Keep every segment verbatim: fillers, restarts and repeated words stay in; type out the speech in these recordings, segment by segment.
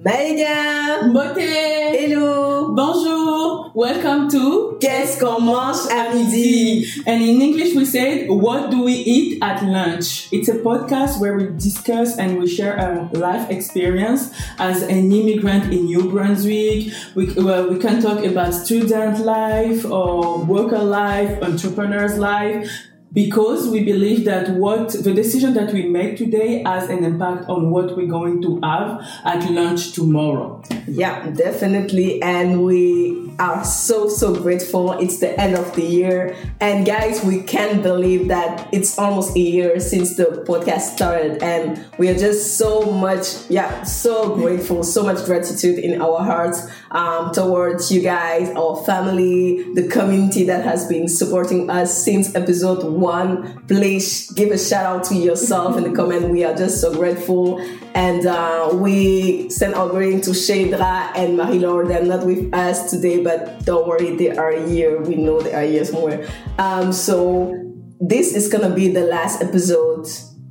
Maïga, Beauté, hello, bonjour, welcome to Qu'est-ce qu'on mange à midi? And in English we say, what do we eat at lunch? It's a podcast where we discuss and we share our life experience as an immigrant in New Brunswick. We, well, we can talk about student life or worker life, entrepreneur's life, because we believe that what the decision that we make today has an impact on what we're going to have at lunch tomorrow. Yeah, definitely. And we are so, so grateful. It's the end of the year. And guys, we can't believe that it's almost a year since the podcast started. And we are just so much, yeah, so grateful, so much gratitude in our hearts um, towards you guys, our family, the community that has been supporting us since episode one. Please give a shout out to yourself in the comment. We are just so grateful. And uh, we send our greeting to Shadra and Marie-Laure. They're not with us today, but don't worry, they are here. We know they are here somewhere. Um, so this is going to be the last episode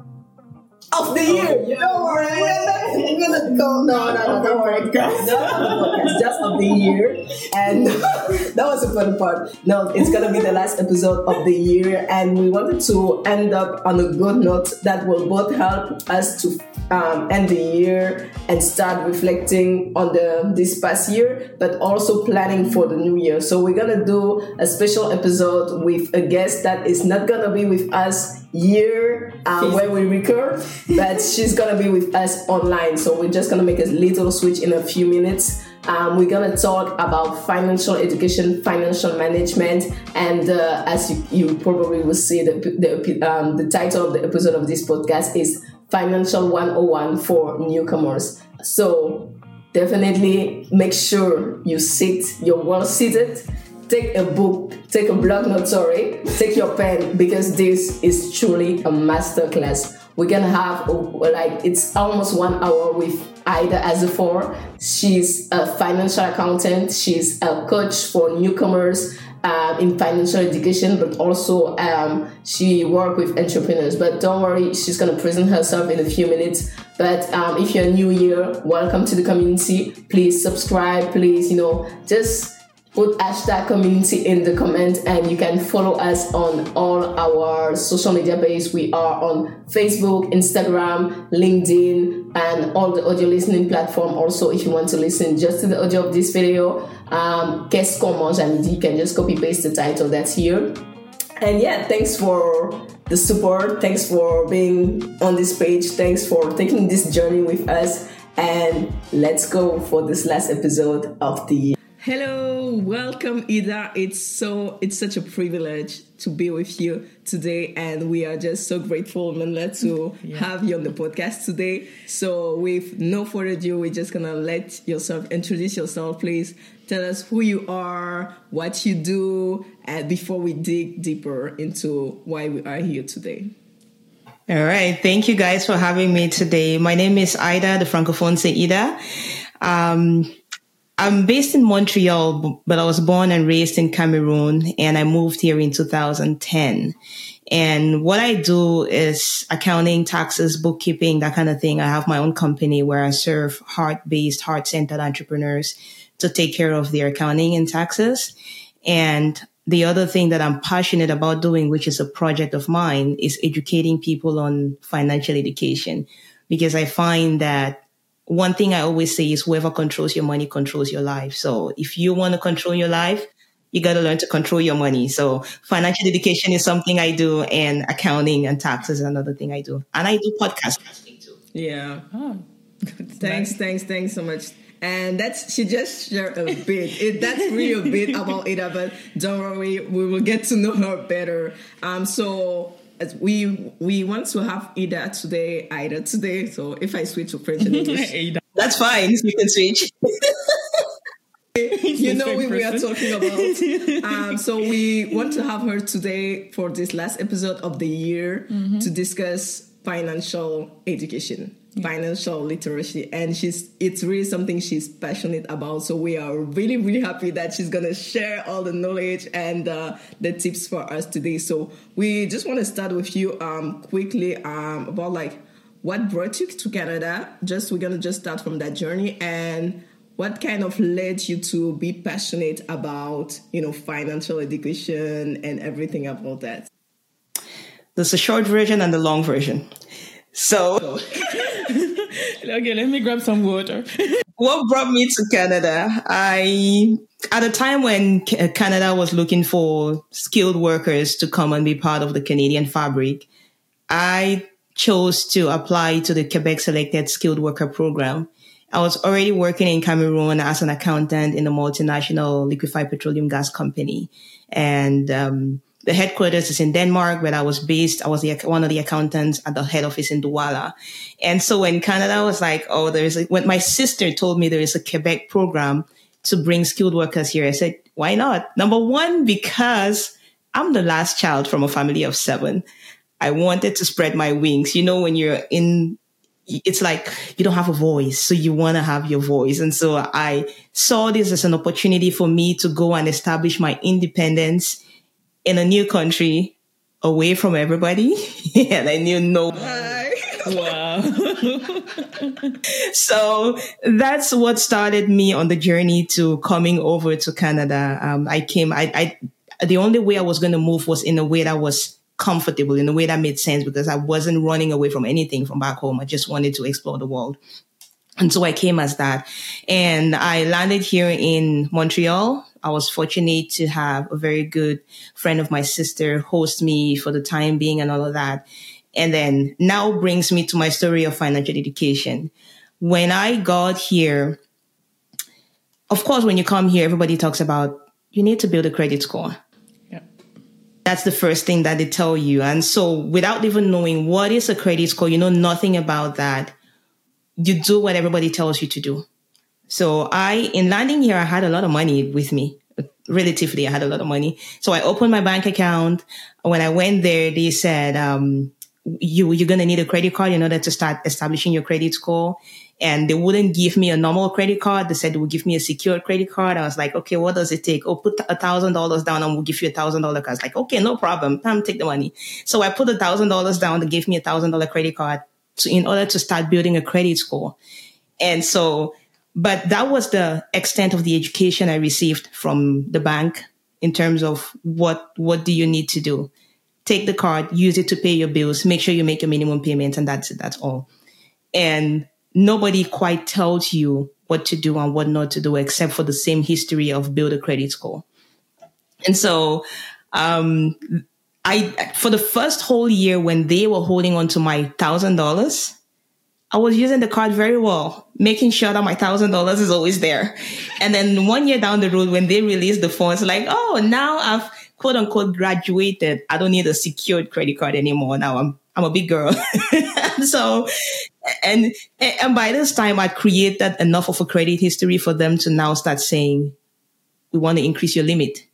of the year. Oh, yeah. Don't worry, we're not gonna go. No, no, no, don't worry, guys. It's just of the year, and that was the fun part. No, it's gonna be the last episode of the year, and we wanted to end up on a good note that will both help us to um, end the year and start reflecting on the this past year, but also planning for the new year. So we're gonna do a special episode with a guest that is not gonna be with us here um, where we record, but she's gonna be with us online. So we're just gonna make a little switch in a few minutes. Um, we're gonna talk about financial education, financial management, and uh, as you, you probably will see, the the, um, the title of the episode of this podcast is Financial one oh one for newcomers. So definitely make sure you sit, you're well seated. Take a book, take a block note, sorry, take your pen, because this is truly a masterclass. We're gonna have, like, it's almost one hour with Ida Azufor. She's a financial accountant. She's a coach for newcomers um, in financial education, but also um, she works with entrepreneurs. But don't worry, she's gonna present herself in a few minutes. But um, if you're new here, welcome to the community. Please subscribe, please, you know, just put hashtag community in the comment, and you can follow us on all our social media pages. We are on Facebook, Instagram, LinkedIn, and all the audio listening platform. Also, if you want to listen just to the audio of this video, um, Qu'est-ce qu'on mange à midi? You can just copy paste the title that's here. And yeah, thanks for the support. Thanks for being on this page. Thanks for taking this journey with us. And let's go for this last episode of the year. Hello, welcome Ida. It's so it's such a privilege to be with you today, and we are just so grateful, Manla, to yeah. have you on the podcast today. So with no further ado, we're just gonna let yourself introduce yourself. Please tell us who you are, what you do, and before we dig deeper into why we are here today. All right, thank you guys for having me today. My name is Ida, the Francophone say Ida. Um, I'm based in Montreal, but I was born and raised in Cameroon, and I moved here in two thousand ten. And what I do is accounting, taxes, bookkeeping, that kind of thing. I have my own company where I serve heart-based, heart-centered entrepreneurs to take care of their accounting and taxes. And the other thing that I'm passionate about doing, which is a project of mine, is educating people on financial education, because I find that one thing I always say is whoever controls your money controls your life. So if you want to control your life, you got to learn to control your money. So financial education is something I do, and accounting and taxes is another thing I do. And I do podcasting too. Yeah. Oh, thanks, nice. thanks, thanks so much. And that's, she just shared a bit. It, that's really a bit about Ida, but don't worry, we will get to know her better. Um, so as we we want to have Ida today, Ida today. So if I switch to French and English, that's fine. You can switch. You know what we are talking about. Um, so we want to have her today for this last episode of the year mm-hmm. to discuss financial education, yeah. financial literacy, and she's it's really something she's passionate about. So we are really, really happy that she's gonna share all the knowledge and uh, the tips for us today. So we just want to start with you um, quickly um, about like what brought you to Canada? Just we're gonna just start from that journey, and what kind of led you to be passionate about, you know, financial education and everything about that? There's a short version and the long version. So, okay, let me grab some water. What brought me to Canada? I, at a time when Canada was looking for skilled workers to come and be part of the Canadian fabric, I chose to apply to the Quebec Selected Skilled Worker Program. I was already working in Cameroon as an accountant in a multinational liquefied petroleum gas company. And um, the headquarters is in Denmark, but I was based, I was the, one of the accountants at the head office in Douala. And so when Canada was like, oh, there's a, when my sister told me there is a Quebec program to bring skilled workers here, I said, why not? Number one, because I'm the last child from a family of seven. I wanted to spread my wings. You know, when you're in, it's like you don't have a voice, so you want to have your voice. And so I saw this as an opportunity for me to go and establish my independence in a new country, away from everybody. And I knew no. Wow. So that's what started me on the journey to coming over to Canada. Um, I came, I, I, the only way I was going to move was in a way that was comfortable, in a way that made sense, because I wasn't running away from anything from back home. I just wanted to explore the world. And so I came as that. And I landed here in Montreal. I was fortunate to have a very good friend of my sister host me for the time being and all of that. And then now brings me to my story of financial education. When I got here, of course, when you come here, everybody talks about you need to build a credit score. That's the first thing that they tell you. And so without even knowing what is a credit score, you know nothing about that, you do what everybody tells you to do. So I, in landing here, I had a lot of money with me. Relatively, I had a lot of money. So I opened my bank account. When I went there, they said, um, you, you're going to need a credit card in order to start establishing your credit score. And they wouldn't give me a normal credit card. They said they would give me a secured credit card. I was like, okay, what does it take? Oh, put a thousand dollars down and we'll give you a thousand dollar card. I was like, okay, no problem. Come take the money. So I put a thousand dollars down. They gave me a thousand dollar credit card to, in order to start building a credit score. And so, but that was the extent of the education I received from the bank in terms of what, what do you need to do? Take the card, use it to pay your bills, make sure you make your minimum payment, and that's it. That's all. And nobody quite tells you what to do and what not to do, except for the same history of build a credit score. And so, um, I, for the first whole year when they were holding on to my thousand dollars, I was using the card very well, making sure that my thousand dollars is always there. And then one year down the road, when they released the funds, like, oh, now I've quote unquote graduated. I don't need a secured credit card anymore. Now I'm, I'm a big girl. So, and, and by this time I created enough of a credit history for them to now start saying, we want to increase your limit.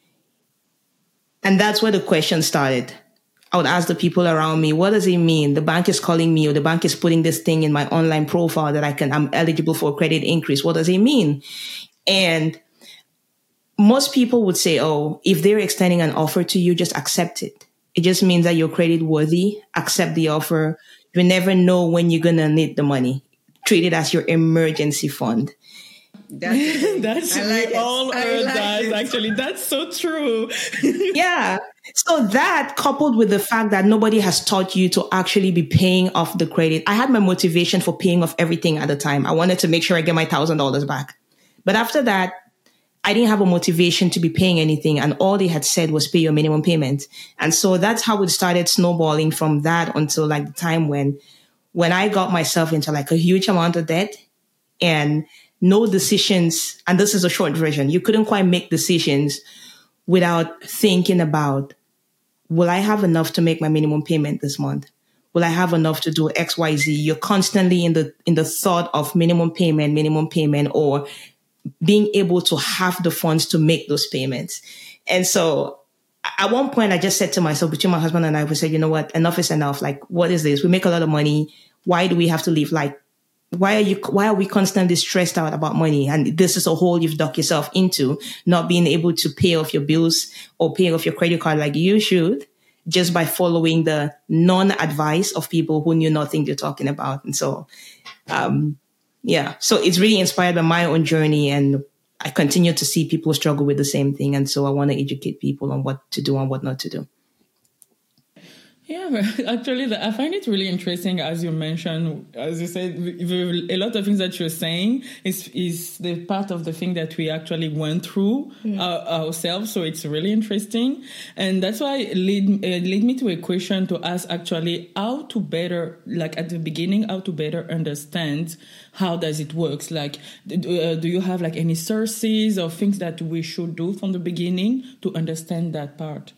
And that's where the question started. I would ask the people around me, what does it mean? The bank is calling me, or the bank is putting this thing in my online profile that I can, I'm eligible for a credit increase. What does it mean? And most people would say, oh, if they're extending an offer to you, just accept it. It just means that you're credit worthy. Accept the offer. You never know when you're going to need the money. Treat it as your emergency fund. That's, That's I like we it. all I heard like that. it. Actually, that's so true. Yeah. So that, coupled with the fact that nobody has taught you to actually be paying off the credit. I had my motivation for paying off everything at the time. I wanted to make sure I get my thousand dollars back. But after that, I didn't have a motivation to be paying anything. And all they had said was pay your minimum payment. And so that's how it started snowballing from that until like the time when, when I got myself into like a huge amount of debt and no decisions. And this is a short version. You couldn't quite make decisions without thinking about, will I have enough to make my minimum payment this month? Will I have enough to do X, Y, Z? You're constantly in the, in the thought of minimum payment, minimum payment, or being able to have the funds to make those payments. And so at one point I just said to myself, between my husband and I, we said, you know what, enough is enough. Like, what is this? We make a lot of money. Why do we have to live? Like, why are you, why are we constantly stressed out about money? And this is a hole you've dug yourself into, not being able to pay off your bills or pay off your credit card like you should. just by following the non-advice of people who knew nothing they're talking about. And so, um, yeah, so it's really inspired by my own journey, and I continue to see people struggle with the same thing. And so I want to educate people on what to do and what not to do. Yeah, actually, I find it really interesting, as you mentioned, as you said, a lot of things that you're saying is is the part of the thing that we actually went through yeah. uh, ourselves. So it's really interesting. And that's why it lead, it lead me to a question to ask actually how to better, like at the beginning, how to better understand how does it works? Like, uh, do you have like any sources or things that we should do from the beginning to understand that part?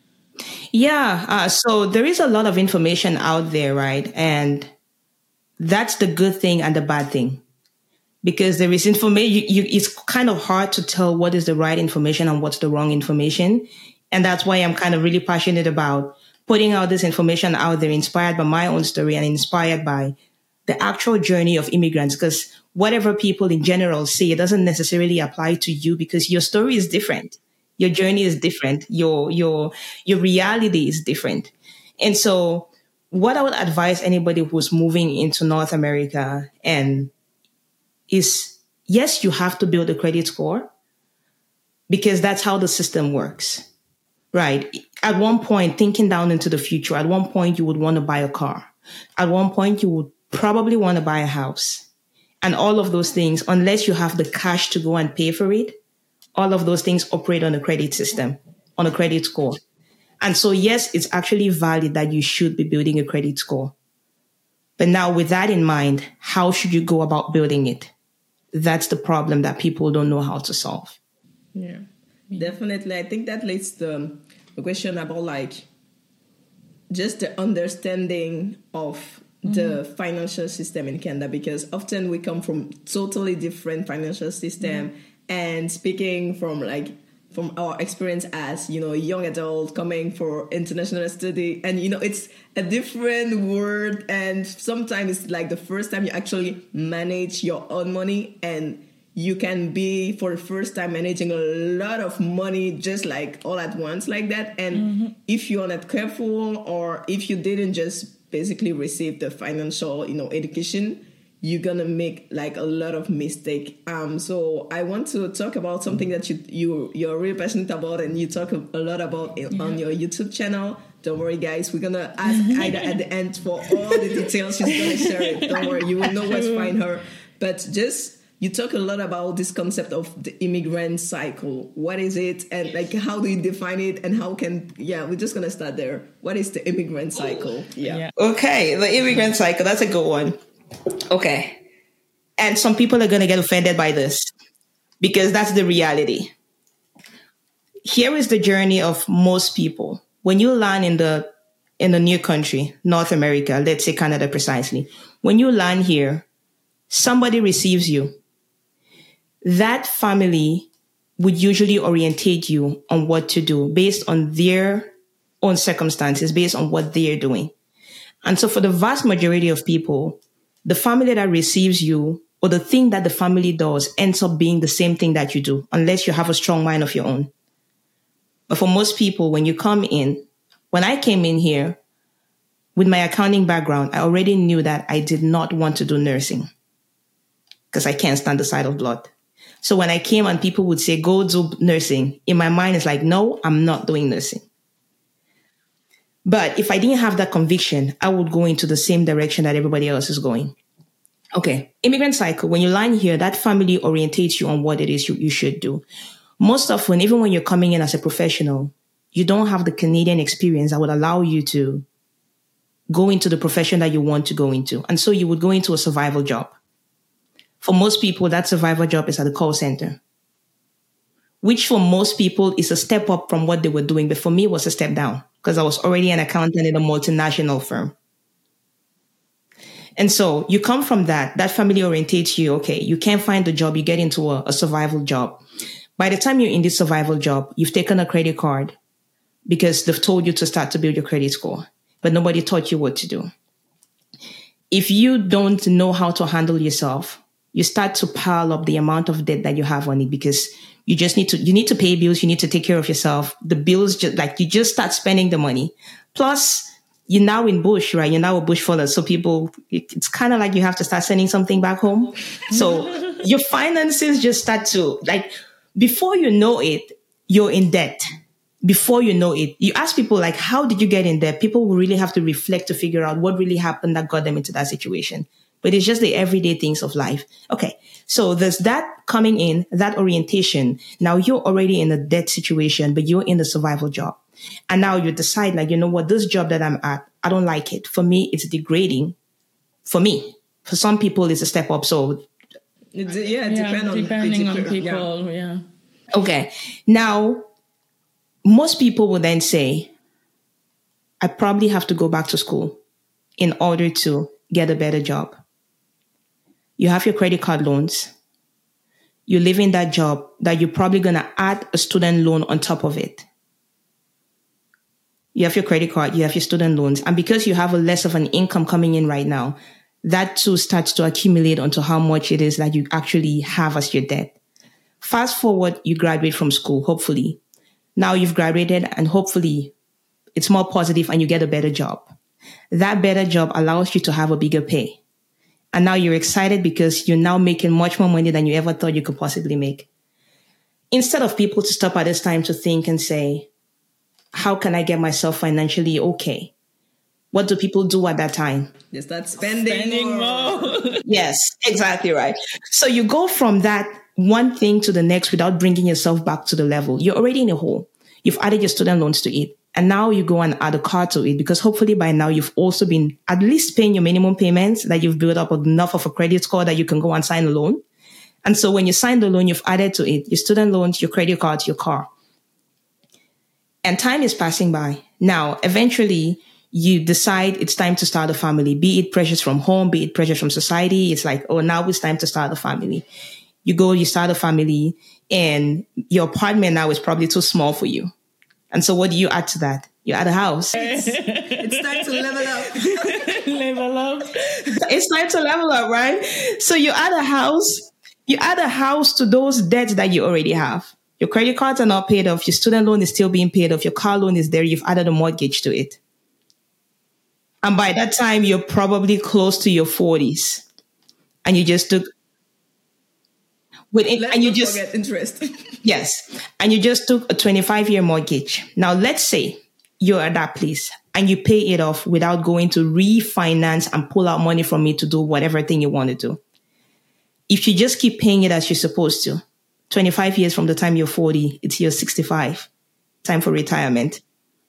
Yeah. Uh, so there is a lot of information out there, right? And that's the good thing and the bad thing, because there is information. You, you, it's kind of hard to tell what is the right information and what's the wrong information. And that's why I'm kind of really passionate about putting out this information out there, inspired by my own story and inspired by the actual journey of immigrants. Because whatever people in general say, it doesn't necessarily apply to you, because your story is different. Your journey is different. Your, your, your reality is different. And so what I would advise anybody who's moving into North America and is, yes, you have to build a credit score, because that's how the system works, right? At one point, thinking down into the future, at one point you would want to buy a car. At one point you would probably want to buy a house, and all of those things, unless you have the cash to go and pay for it, all of those things operate on a credit system, on a credit score. And so, yes, it's actually valid that you should be building a credit score. But now with that in mind, how should you go about building it? That's the problem that people don't know how to solve. Yeah, definitely. I think that leads to the question about like just the understanding of the mm-hmm. financial system in Canada, because often we come from totally different financial system. Mm-hmm. And speaking from like from our experience as, you know, a young adult coming for international study, and, you know, it's a different world. And sometimes it's like the first time you actually manage your own money, and you can be for the first time managing a lot of money just like all at once like that. And mm-hmm. if you're not careful, or if you didn't just basically receive the financial, you know, education, you're gonna make like a lot of mistake. Um, so I want to talk about something that you you you're really passionate about, and you talk a lot about it yeah. on your YouTube channel. Don't worry, guys. We're gonna ask Ida at the end for all the details. She's gonna share it. Don't worry, you will know where to find her. But just you talk a lot about this concept of the immigrant cycle. What is it, and like how do you define it, and how can yeah? We're just gonna start there. What is the immigrant cycle? Yeah. yeah. Okay, the immigrant cycle. That's a good one. Okay. And some people are going to get offended by this, because that's the reality. Here is the journey of most people. When you land in the in a new country, North America, let's say Canada precisely, when you land here, somebody receives you. That family would usually orientate you on what to do based on their own circumstances, based on what they're doing. And so for the vast majority of people, the family that receives you, or the thing that the family does, ends up being the same thing that you do, unless you have a strong mind of your own. But for most people, when you come in, when I came in here with my accounting background, I already knew that I did not want to do nursing, because I can't stand the sight of blood. So when I came and people would say, go do nursing, in my mind, it's like, no, I'm not doing nursing. But if I didn't have that conviction, I would go into the same direction that everybody else is going. Okay. Immigrant cycle. When you land here, that family orientates you on what it is you, you should do. Most often, even when you're coming in as a professional, you don't have the Canadian experience that would allow you to go into the profession that you want to go into. And so you would go into a survival job. For most people, that survival job is at the call center, which for most people is a step up from what they were doing. But for me, it was a step down, because I was already an accountant in a multinational firm. And so you come from that, that family orientates you. Okay, you can't find a job, you get into a, a survival job. By the time you're in this survival job, you've taken a credit card because they've told you to start to build your credit score, but nobody taught you what to do. If you don't know how to handle yourself, you start to pile up the amount of debt that you have on it because you just need to, you need to pay bills. You need to take care of yourself. The bills just like, you just start spending the money. Plus you're now in bush, right? You're now a bush fuller. So people, it, it's kind of like you have to start sending something back home. So your finances just start to like, before you know it, you're in debt. Before you know it, you ask people like, how did you get in there? People will really have to reflect to figure out what really happened that got them into that situation. But it's just the everyday things of life. Okay. So there's that coming in, that orientation. Now you're already in a debt situation, but you're in the survival job. And now you decide like, you know what, this job that I'm at, I don't like it. For me, it's degrading. For me, for some people, it's a step up. So it's, yeah, yeah depend on, depending on people. people. Yeah. yeah. Okay. Now, most people will then say, I probably have to go back to school in order to get a better job. You have your credit card loans. You live in that job that you're probably going to add a student loan on top of it. You have your credit card, you have your student loans. And because you have a less of an income coming in right now, that too starts to accumulate onto how much it is that you actually have as your debt. Fast forward, you graduate from school, hopefully. Now you've graduated and hopefully it's more positive and you get a better job. That better job allows you to have a bigger pay. And now you're excited because you're now making much more money than you ever thought you could possibly make. Instead of people to stop at this time to think and say, how can I get myself financially okay? What do people do at that time? They start spending, spending more. more. Yes, exactly right. So you go from that one thing to the next without bringing yourself back to the level. You're already in a hole. You've added your student loans to it. And now you go and add a car to it because hopefully by now you've also been at least paying your minimum payments, that you've built up enough of a credit score that you can go and sign a loan. And so when you sign the loan, you've added to it your student loans, your credit cards, your car. And time is passing by. Now, eventually you decide it's time to start a family, be it pressures from home, be it pressures from society. It's like, oh, now it's time to start a family. You go, you start a family and your apartment now is probably too small for you. And so what do you add to that? You add a house. It's, it's time to level up. Level up. It's time to level up, right? So you add a house, you add a house to those debts that you already have. Your credit cards are not paid off. Your student loan is still being paid off. Your car loan is there. You've added a mortgage to it. And by that time, you're probably close to your forties. And you just took... With it, Let's and you not just forget interest. Yes. And you just took a twenty-five year mortgage. Now, let's say you're at that place and you pay it off without going to refinance and pull out money from it to do whatever thing you want to do. If you just keep paying it as you're supposed to, twenty-five years from the time you're forty, it's year sixty-five. Time for retirement.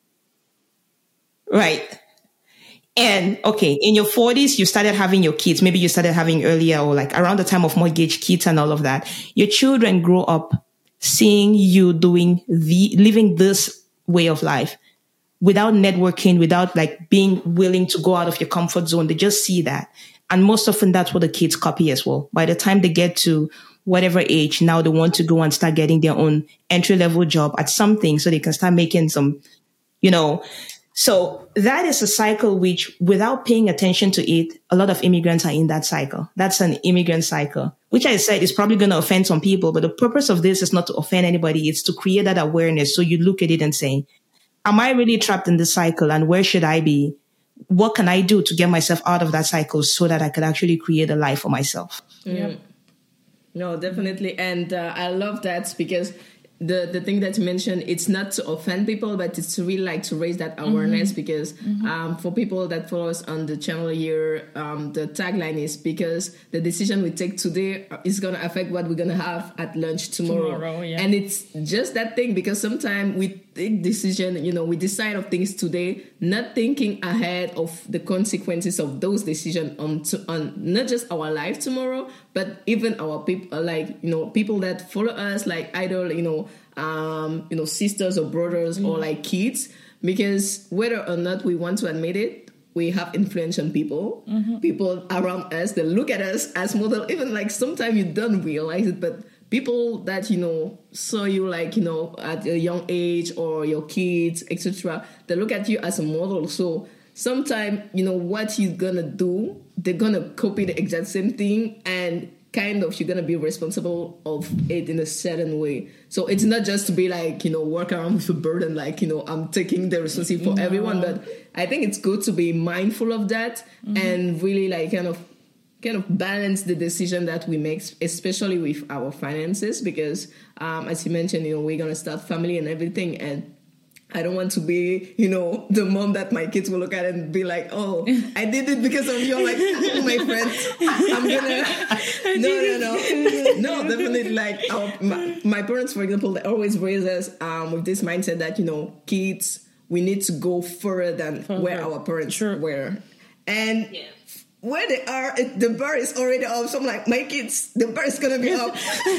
Right. And okay, in your forties, you started having your kids. Maybe you started having earlier or like around the time of mortgage, kids and all of that. Your children grow up seeing you doing the, living this way of life without networking, without like being willing to go out of your comfort zone. They just see that. And most often that's what the kids copy as well. By the time they get to whatever age, now they want to go and start getting their own entry level job at something so they can start making some, you know. So that is a cycle which, without paying attention to it, a lot of immigrants are in that cycle. That's an immigrant cycle, which I said is probably going to offend some people. But the purpose of this is not to offend anybody. It's to create that awareness. So you look at it and say, am I really trapped in this cycle? And where should I be? What can I do to get myself out of that cycle so that I could actually create a life for myself? Yeah. No, definitely. And uh, I love that because the the thing that you mentioned, it's not to offend people, but it's to really like to raise that awareness. Mm-hmm. Because mm-hmm. Um, for people that follow us on the channel here, um, the tagline is because the decision we take today is going to affect what we're going to have at lunch tomorrow. tomorrow yeah. And it's just that thing, because sometimes we take decision, you know, we decide of things today, not thinking ahead of the consequences of those decisions on, to, on not just our life tomorrow, but even our people, like, you know, people that follow us, like either, you know, um, you know, sisters or brothers, mm-hmm. or like kids, because whether or not we want to admit it, we have influence on people, mm-hmm. people around us that look at us as model. Even like sometimes you don't realize it, but people that, you know, saw you like, you know, at a young age, or your kids, et cetera, they look at you as a model. So sometimes, you know, what you're gonna do, they're gonna copy the exact same thing, and kind of, you're going to be responsible of it in a certain way. So it's not just to be like, you know, work around with a burden, like, you know, I'm taking the responsibility for no. everyone. But I think it's good to be mindful of that mm-hmm. and really like kind of kind of balance the decision that we make, especially with our finances, because um, as you mentioned, you know, we're going to start family and everything. And I don't want to be, you know, the mom that my kids will look at and be like, oh, I did it because of you. Like, oh, my friends, I'm gonna, no, no, no, no, definitely. Like our, my, my parents, for example, they always raise us um, with this mindset that, you know, kids, we need to go further than further. where our parents sure. were. And yeah. where they are, it, the bar is already up. So I'm like, my kids, the bar is gonna be up.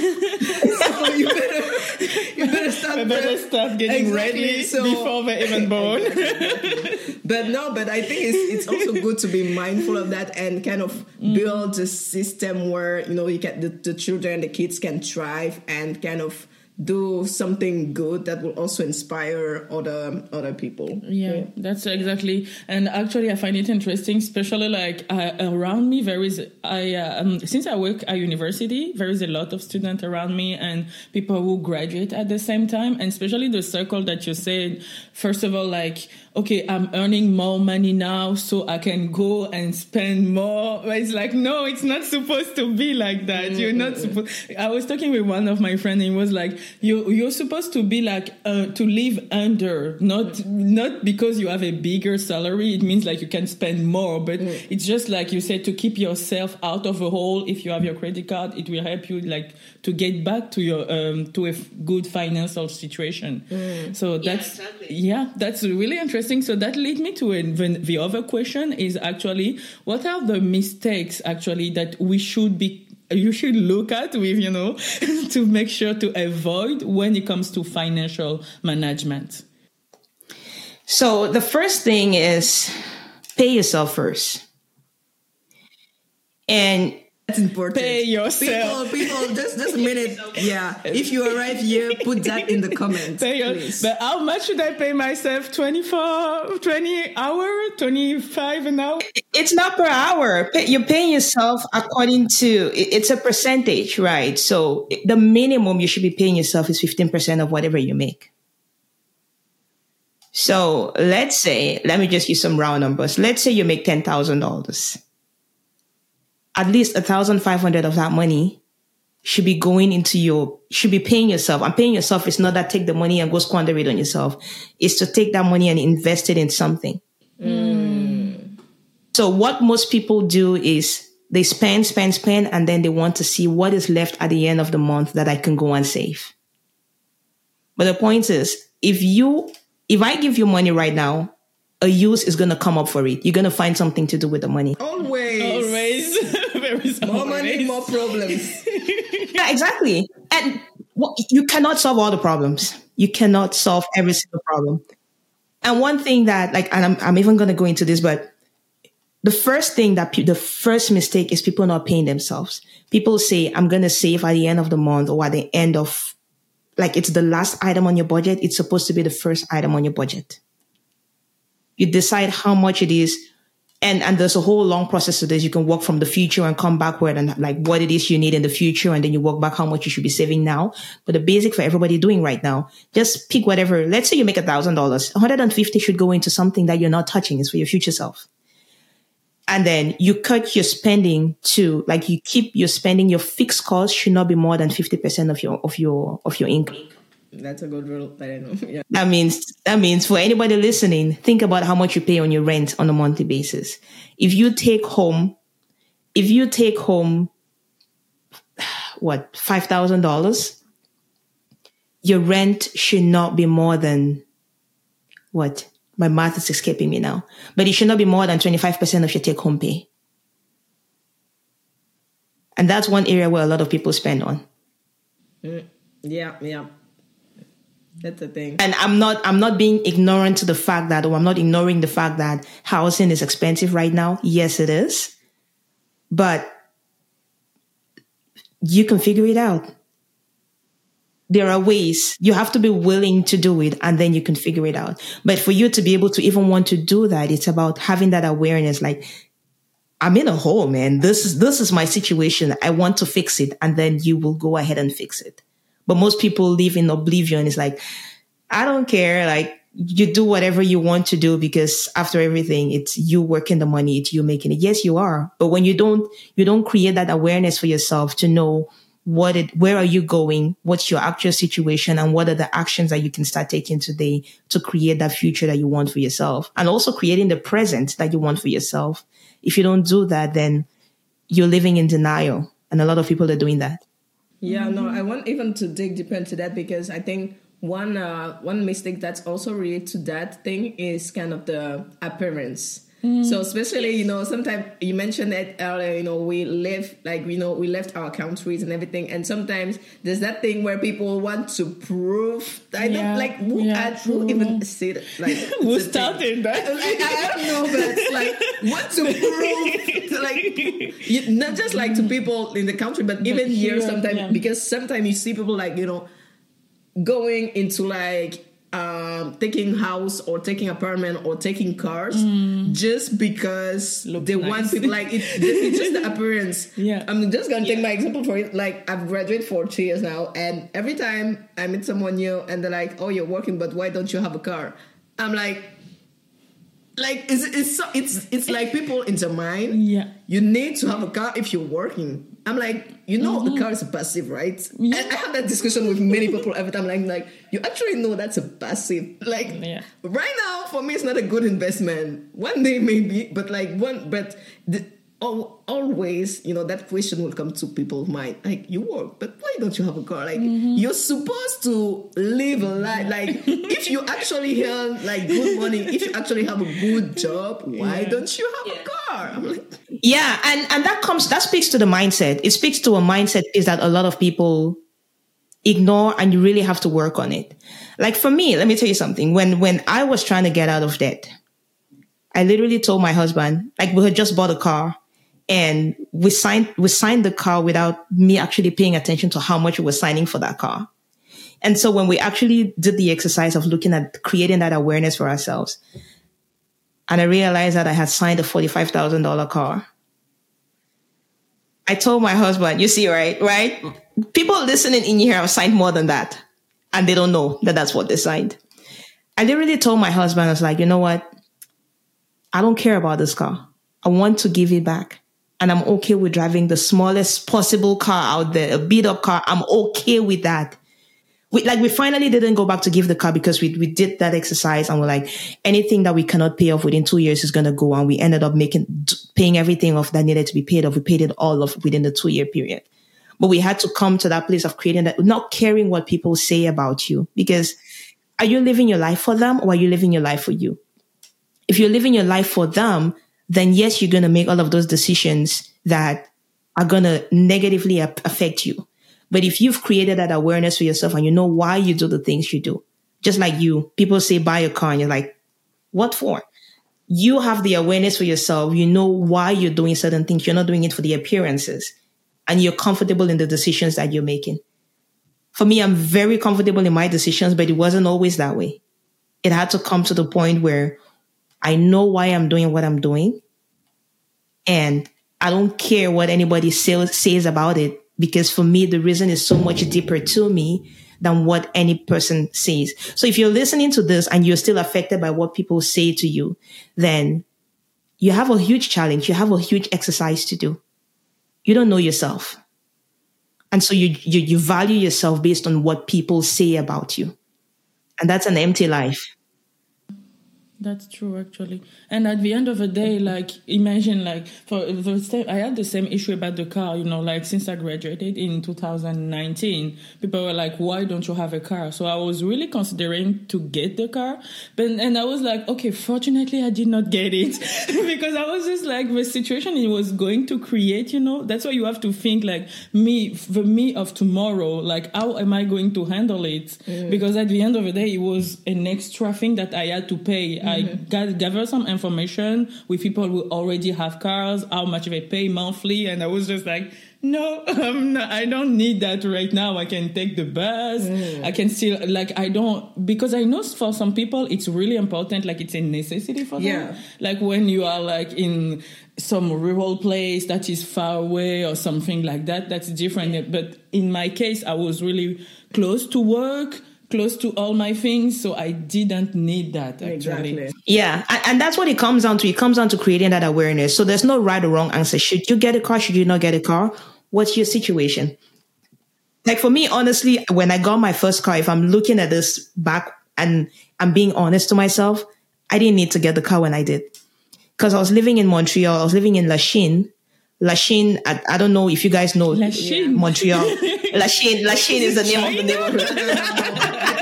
So you better, you better start. You better start getting exactly. ready so, before they're even born. But no, but I think it's it's also good to be mindful of that and kind of mm. build a system where, you know, you get the, the children, the kids can thrive and kind of do something good that will also inspire other other people. Yeah, yeah. That's exactly. And actually, I find it interesting, especially like uh, around me, there is, I uh, um, since I work at university, there is a lot of students around me and people who graduate at the same time. And especially the circle that you said, first of all, like, okay, I'm earning more money now, so I can go and spend more. But it's like, no, it's not supposed to be like that. Mm-hmm. You're not supposed. I was talking with one of my friends, and he was like, you you're supposed to be like uh, to live under, not not because you have a bigger salary. It means like you can spend more, but mm. it's just like you said, to keep yourself out of a hole. If you have your credit card, it will help you like to get back to your um to a f- good financial situation. Mm. So that's yeah, exactly. yeah, that's really interesting. So that leads me to a, the, the other question is actually, what are the mistakes actually that we should be you should look at with, you know, to make sure to avoid when it comes to financial management? So the first thing is pay yourself first. And that's important. Pay yourself. People, people, just, just a minute. Yeah. If you arrive here, put that in the comments, pay your, please. But how much should I pay myself? twenty-four, twenty hour, twenty-five an hour? It's not per hour. You're paying yourself according to, it's a percentage, right? So the minimum you should be paying yourself is fifteen percent of whatever you make. So let's say, let me just use some round numbers. Let's say you make ten thousand dollars. At least one thousand five hundred dollars of that money should be going into your, should be paying yourself. And paying yourself is not that take the money and go squander it on yourself. It's to take that money and invest it in something. Mm. So what most people do is they spend, spend, spend, and then they want to see what is left at the end of the month that I can go and save. But the point is, if you, if I give you money right now, a use is going to come up for it. You're going to find something to do with the money. Always. Always. More money, more problems. Yeah, exactly. And well, you cannot solve all the problems. You cannot solve every single problem. And one thing that, like, and I'm, I'm even going to go into this, but the first thing that, pe- the first mistake is people not paying themselves. People say, I'm going to save at the end of the month or at the end of, like, it's the last item on your budget. It's supposed to be the first item on your budget. You decide how much it is. And, and there's a whole long process to this. You can work from the future and come backward and like what it is you need in the future. And then you work back how much you should be saving now. But the basic for everybody doing right now, just pick whatever. Let's say you make a thousand dollars. one hundred fifty should go into something that you're not touching. It's for your future self. And then you cut your spending to, like, you keep your spending, your fixed costs should not be more than fifty percent of your, of your, of your income. That's a good rule that I know. Yeah. That means, that means for anybody listening, think about how much you pay on your rent on a monthly basis. If you take home, if you take home, what, five thousand dollars, your rent should not be more than, what, my math is escaping me now, but it should not be more than twenty-five percent of your take home pay. And that's one area where a lot of people spend on. Mm, yeah, yeah. That's the thing. And I'm not, I'm not being ignorant to the fact that, or I'm not ignoring the fact that housing is expensive right now. Yes, it is. But you can figure it out. There are ways. You have to be willing to do it, and then you can figure it out. But for you to be able to even want to do that, it's about having that awareness. Like, I'm in a hole, man. This is, this is my situation. I want to fix it. And then you will go ahead and fix it. But most people live in oblivion. It's like, I don't care. Like, you do whatever you want to do because after everything, it's you working the money, it's you making it. Yes, you are. But when you don't, you don't create that awareness for yourself to know what it, where are you going? What's your actual situation? And what are the actions that you can start taking today to create that future that you want for yourself? And also creating the present that you want for yourself. If you don't do that, then you're living in denial. And a lot of people are doing that. Yeah, no, I want even to dig deeper into that because I think one uh, one mistake that's also related to that thing is kind of the appearance. Mm. So especially, you know, sometimes you mentioned it earlier, you know, we live like, you know, we left our countries and everything. And sometimes there's that thing where people want to prove. I yeah. don't like, who, yeah, I, who even say that? Like, who started that? I, I don't know, but it's like, what to prove? To like, you, not just like to people in the country, but even but here, here sometimes, yeah. because sometimes you see people like, you know, going into like, um taking house or taking apartment or taking cars mm. just because Looks they nice. want people like it, it's just the appearance. Yeah, I'm just gonna take yeah. my example for it. Like I've graduated for two years now, and every time I meet someone new and they're like, oh, you're working, but why don't you have a car? I'm like, like it's it's so, it's it's like people in their mind, yeah, you need to have a car if you're working. I'm like, you know, mm-hmm. a car is a passive, right? Yeah. And I have that discussion with many people every time. Like, like, you actually know that's a passive. Like, yeah. right now, for me, it's not a good investment. One day, maybe, but like one, but the, al- always, you know, that question will come to people's mind. Like, you work, but why don't you have a car? Like, mm-hmm. you're supposed to live a life. Like, if you actually earn like good money, if you actually have a good job, why yeah. don't you have yeah. a car? I'm like, yeah, and, and that comes, that speaks to the mindset. It speaks to a mindset is that a lot of people ignore, and you really have to work on it. Like for me, let me tell you something. When, when I was trying to get out of debt, I literally told my husband, like we had just bought a car and we signed, we signed the car without me actually paying attention to how much we were signing for that car. And so when we actually did the exercise of looking at creating that awareness for ourselves, and I realized that I had signed a forty-five thousand dollars car. I told my husband, you see, right, right? People listening in here have signed more than that. And they don't know that that's what they signed. I literally told my husband, I was like, you know what? I don't care about this car. I want to give it back. And I'm okay with driving the smallest possible car out there, a beat up car. I'm okay with that. We, like, we finally didn't go back to give the car because we, we did that exercise and we're like, anything that we cannot pay off within two years is going to go. And we ended up making, paying everything off that needed to be paid off. We paid it all off within the two year period. But we had to come to that place of creating that, not caring what people say about you, because are you living your life for them or are you living your life for you? If you're living your life for them, then yes, you're going to make all of those decisions that are going to negatively affect you. But if you've created that awareness for yourself and you know why you do the things you do, just like you, people say buy a car and you're like, what for? You have the awareness for yourself. You know why you're doing certain things. You're not doing it for the appearances, and you're comfortable in the decisions that you're making. For me, I'm very comfortable in my decisions, but it wasn't always that way. It had to come to the point where I know why I'm doing what I'm doing, and I don't care what anybody say, says about it. Because for me, the reason is so much deeper to me than what any person says. So if you're listening to this and you're still affected by what people say to you, then you have a huge challenge. You have a huge exercise to do. You don't know yourself. And so you, you, you value yourself based on what people say about you. And that's an empty life. That's true, actually. And at the end of the day, like, imagine, like, for the same, I had the same issue about the car, you know, like, since I graduated in two thousand nineteen, people were like, why don't you have a car? So I was really considering to get the car. But, and I was like, okay, fortunately, I did not get it because I was just like, the situation it was going to create, you know, that's why you have to think, like, me, the me of tomorrow, like, how am I going to handle it? Mm. Because at the end of the day, it was an extra thing that I had to pay. I got, gathered some information with people who already have cars, how much they pay monthly. And I was just like, No, um, no, I don't need that right now. I can take the bus. Mm. I can still, like, I don't, because I know for some people, it's really important, like, it's a necessity for them. Yeah. Like, when you are, like, in some rural place that is far away or something like that, that's different. But in my case, I was really close to work, close to all my things, so I didn't need that, actually. Exactly. Yeah, and, and that's what it comes down to. It comes down to creating that awareness. So there's no right or wrong answer. Should you get a car? Should you not get a car? What's your situation? Like for me, honestly, when I got my first car, if I'm looking at this back and I'm being honest to myself, I didn't need to get the car when I did. Because I was living in Montreal. I was living in Lachine. Lachine, I, I don't know if you guys know Lachine. Montreal. Lachine, Lachine is the name of the neighborhood.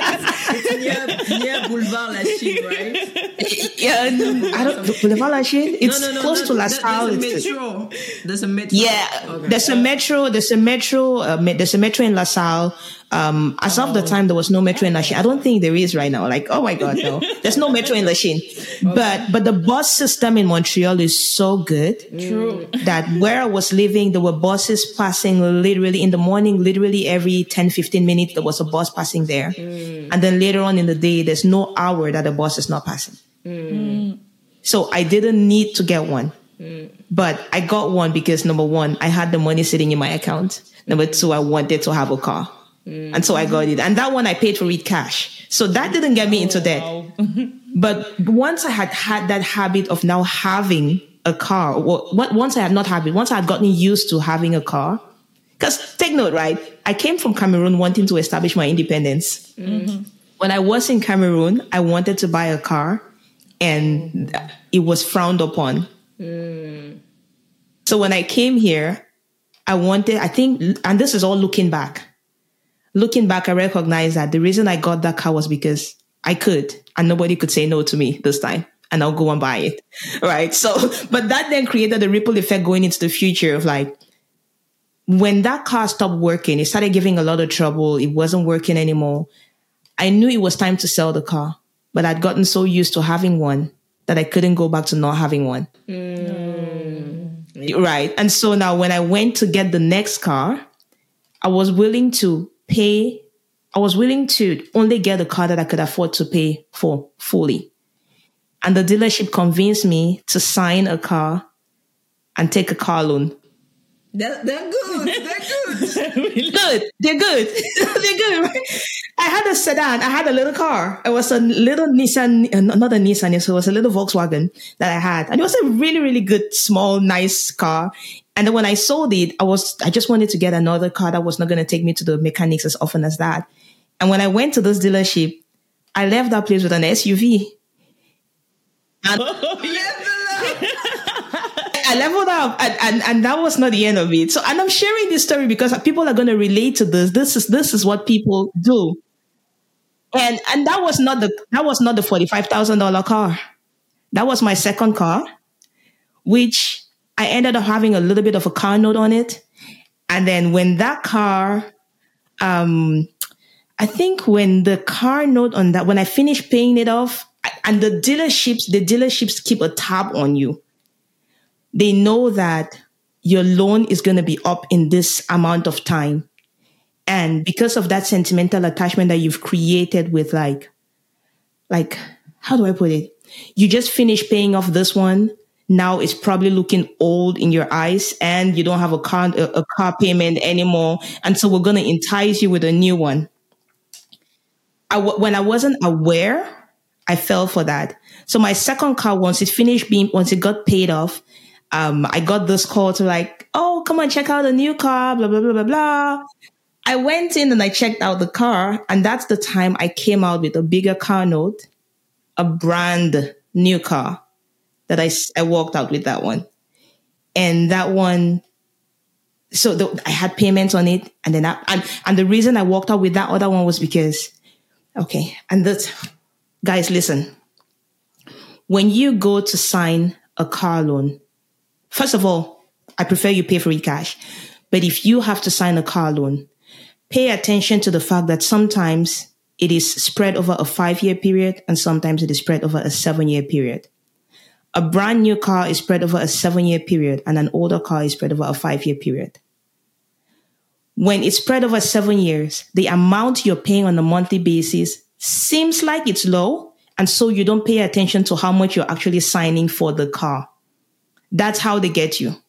It's near, near Boulevard Lachine, right? Yeah, no, I don't. Boulevard Lachine. It's no, no, no, close no, to La there- Salle. There's a metro. There's a metro. Yeah, Okay. there's a metro. There's a metro. Uh, me- there's a metro in La Salle. Um, as of the time, there was no metro in Lachine. I don't think there is right now. Like, oh my god, no, there's no metro in Lachine. But but the bus system in Montreal is so good. True. That where I was living, there were buses passing literally in the morning, literally every ten, fifteen minutes, there was a bus passing there. Mm. And then later on in the day, there's no hour that the bus is not passing. Mm. So I didn't need to get one. Mm. But I got one because number one, I had the money sitting in my account. Number two, I wanted to have a car. Mm. And so I got it. And that one I paid for it cash. So that didn't get me into debt. Wow. But once I had had that habit of now having a car, well, once I had not had it, once I had gotten used to having a car, because take note, right? I came from Cameroon wanting to establish my independence. Mm-hmm. When I was in Cameroon, I wanted to buy a car and it was frowned upon. Mm. So when I came here, I wanted, I think, and this is all looking back. Looking back, I recognize that the reason I got that car was because I could, and nobody could say no to me this time, and I'll go and buy it. Right. So, but that then created a ripple effect going into the future of like, when that car stopped working, it started giving a lot of trouble. It wasn't working anymore. I knew it was time to sell the car, but I'd gotten so used to having one that I couldn't go back to not having one. Mm. Right. And so now when I went to get the next car, I was willing to pay. I was willing to only get a car that I could afford to pay for fully. And the dealership convinced me to sign a car and take a car loan. They're, they're good. They're good. Good. They're good. They're good. Right? I had a sedan. I had a little car. It was a little Nissan, uh, not a Nissan. It was a little Volkswagen that I had. And it was a really, really good, small, nice car. And then when I sold it, I was, I just wanted to get another car that was not going to take me to the mechanics as often as that. And when I went to this dealership, I left that place with an S U V. And I leveled up, and, and, and that was not the end of it. So, and I'm sharing this story because people are going to relate to this. This is, this is what people do. And, and that was not the, that was not the forty-five thousand dollars car. That was my second car, which I ended up having a little bit of a car note on it. And then when that car, um, I think when the car note on that, when I finished paying it off, and the dealerships, the dealerships keep a tab on you. They know that your loan is going to be up in this amount of time. And because of that sentimental attachment that you've created with like, like, how do I put it? You just finished paying off this one. Now it's probably looking old in your eyes and you don't have a car, a, a car payment anymore. And so we're going to entice you with a new one. I, when I wasn't aware, I fell for that. So my second car, once it finished being, once it got paid off, um, I got this call to like, oh, come on, check out a new car, blah, blah, blah, blah, blah. I went in and I checked out the car. And that's the time I came out with a bigger car note, a brand new car that I, I walked out with that one. And that one, so the, I had payments on it. And then I, and, and the reason I walked out with that other one was because, okay, and that, guys, listen, when you go to sign a car loan, first of all, I prefer you pay for it cash. But if you have to sign a car loan, pay attention to the fact that sometimes it is spread over a five-year period and sometimes it is spread over a seven-year period. A brand new car is spread over a seven-year period and an older car is spread over a five-year period. when it's spread over seven years, the amount you're paying on a monthly basis seems like it's low. And so you don't pay attention to how much you're actually signing for the car. That's how they get you.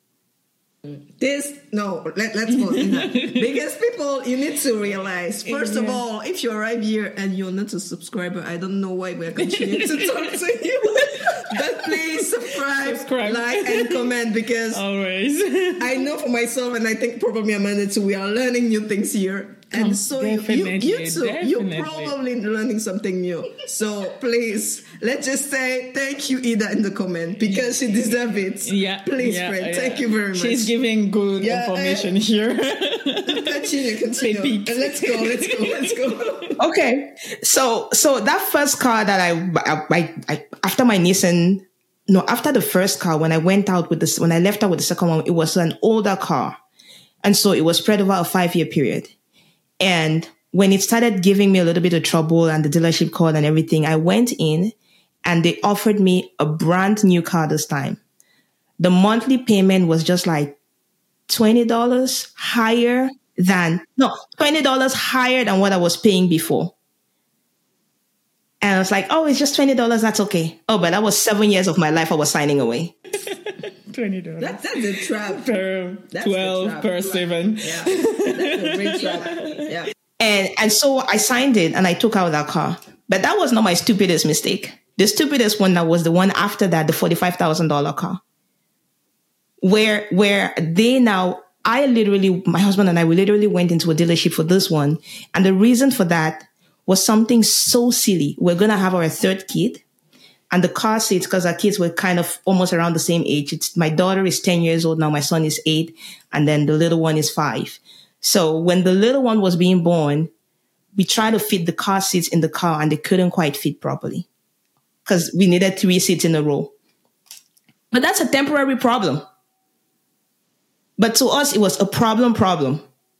This, no, let, let's go in that. Because people, you need to realize, first of all, if you arrive here and you're not a subscriber, I don't know why we're continuing to talk to you. But please subscribe, subscribe, like, and comment, because always. I know for myself, and I think probably Amanda too, we are learning new things here. And oh, so you, you, you too, definitely. You're probably learning something new. So please, let's just say thank you, Ida, in the comment, because she deserves it. Yeah. Please, yeah, friend. Yeah. Thank you very much. She's giving good yeah, information uh, here. Continue, continue. Let's go, let's go, let's go. Okay. So, so that first car that I, I, I after my Nissan, no, after the first car, when I went out with this, when I left out with the second one, it was an older car. And so it was spread over a five year period. And when it started giving me a little bit of trouble and the dealership called and everything, I went in and they offered me a brand new car this time. The monthly payment was just like twenty dollars higher than, no, twenty dollars higher than what I was paying before. And I was like, oh, it's just twenty dollars. That's okay. Oh, but that was seven years of my life I was signing away. twenty dollars. That, that's a trap. Per that's twelve, trap. Per seven. Yeah. That's a great trap. Yeah. And, and so I signed it and I took out that car. But that was not my stupidest mistake. The stupidest one that was the one after that, the forty-five thousand dollars car. Where, where they now, I literally, my husband and I, we literally went into a dealership for this one. And the reason for that was something so silly. We're going to have our third kid. And the car seats, because our kids were kind of almost around the same age. It's, my daughter is ten years old now. My son is eight. And then the little one is five. So when the little one was being born, we tried to fit the car seats in the car and they couldn't quite fit properly because we needed three seats in a row. But that's a temporary problem. But to us, it was a problem problem.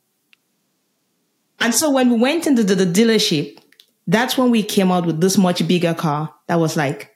And so when we went into the, the dealership, that's when we came out with this much bigger car that was like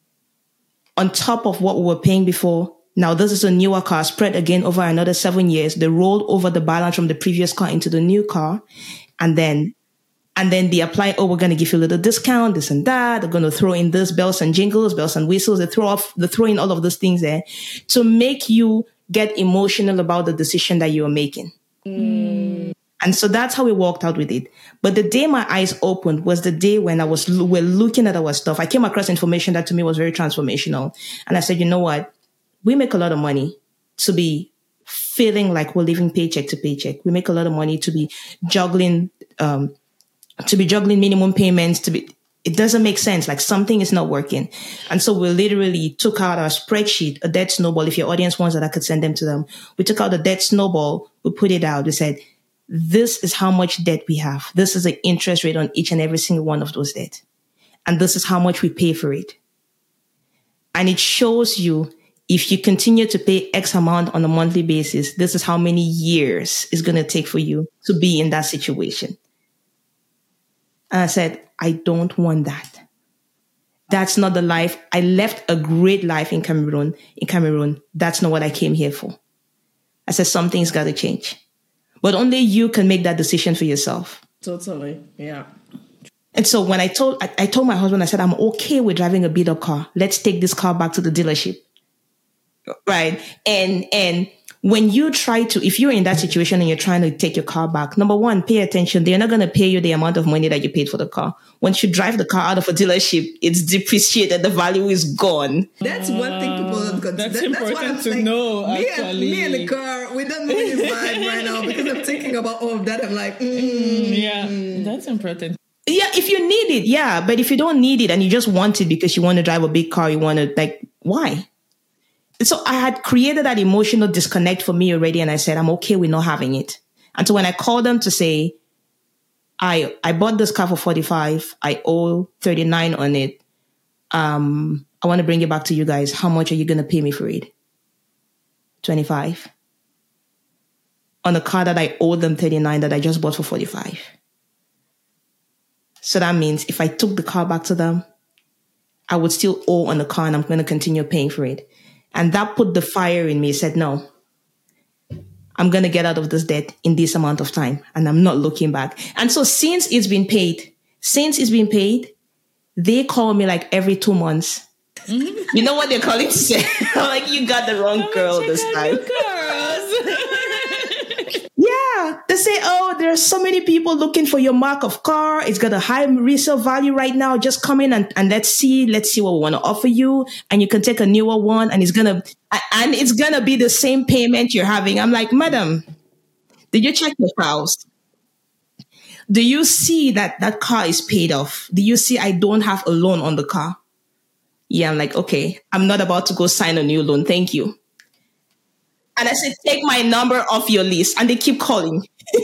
on top of what we were paying before. Now, this is a newer car spread again over another seven years. They rolled over the balance from the previous car into the new car. And then, and then they apply, oh, we're going to give you a little discount, this and that. They're going to throw in this bells and jingles, bells and whistles. They throw off, they throw in all of those things there to make you get emotional about the decision that you're making. Mm. And so that's how we walked out with it. But the day my eyes opened was the day when I was, we're looking at our stuff. I came across information that to me was very transformational. And I said, you know what? We make a lot of money to be feeling like we're living paycheck to paycheck. We make a lot of money to be juggling, um, to be juggling minimum payments, to be, it doesn't make sense. Like something is not working. And so we literally took out our spreadsheet, a debt snowball. If your audience wants that, I could send them to them. We took out the debt snowball. We put it out. We said, this is how much debt we have. This is the interest rate on each and every single one of those debt. And this is how much we pay for it. And it shows you, if you continue to pay X amount on a monthly basis, this is how many years it's going to take for you to be in that situation. And I said, I don't want that. That's not the life. I left a great life in Cameroon. In Cameroon, that's not what I came here for. I said, something's got to change. But only you can make that decision for yourself. Totally. Yeah. And so when I told, I, I told my husband, I said, I'm okay with driving a beat up car. Let's take this car back to the dealership. Right. And, and when you try to, if you're in that situation and you're trying to take your car back, number one, pay attention. They're not going to pay you the amount of money that you paid for the car. Once you drive the car out of a dealership, it's depreciated. The value is gone. That's one thing people don't consider. That's that, important that's what I'm to saying. know, me actually. And, me and the car, we don't know his vibe right now because I'm thinking about all of that. I'm like, mm. yeah, that's important. Yeah, if you need it, yeah. But if you don't need it and you just want it because you want to drive a big car, you want to, like, why? So I had created that emotional disconnect for me already. And I said, I'm okay with not having it. And so when I called them to say, I, I bought this car for forty-five, I owe thirty-nine on it. Um, I want to bring it back to you guys. How much are you going to pay me for it? twenty-five. On a car that I owe them thirty-nine that I just bought for forty-five. So that means if I took the car back to them, I would still owe on the car and I'm going to continue paying for it. And that put the fire in me. Said, no, I'm going to get out of this debt in this amount of time, and I'm not looking back. And so since it's been paid, since it's been paid, they call me like every two months. Mm-hmm. You know what they're calling to say? Like, you got the wrong girl this time. Yeah, they say, oh, there are so many people looking for your mark of car. It's got a high resale value right now. Just come in and, and let's see, let's see what we want to offer you. And you can take a newer one, and it's going to, and it's going to be the same payment you're having. I'm like, madam, did you check your files? Do you see that that car is paid off? Do you see I don't have a loan on the car? Yeah, I'm like, okay, I'm not about to go sign a new loan. Thank you. And I said, take my number off your list. And they keep calling.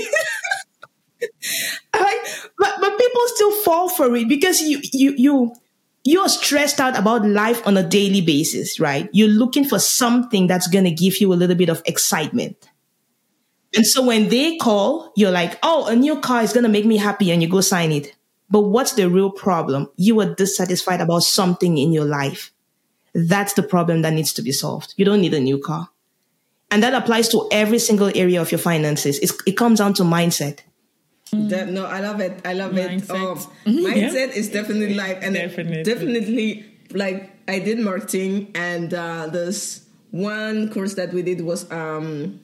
Like, but, but people still fall for it because you, you, you, you're stressed out about life on a daily basis, right? You're looking for something that's going to give you a little bit of excitement. And so when they call, you're like, oh, a new car is going to make me happy, and you go sign it. But what's the real problem? You are dissatisfied about something in your life. That's the problem that needs to be solved. You don't need a new car. And that applies to every single area of your finances. It's, it comes down to mindset. De- no, I love it. I love mindset. it. Um, mindset yeah. is definitely life. And definitely. definitely, like, I did marketing, and uh, this one course that we did was, um,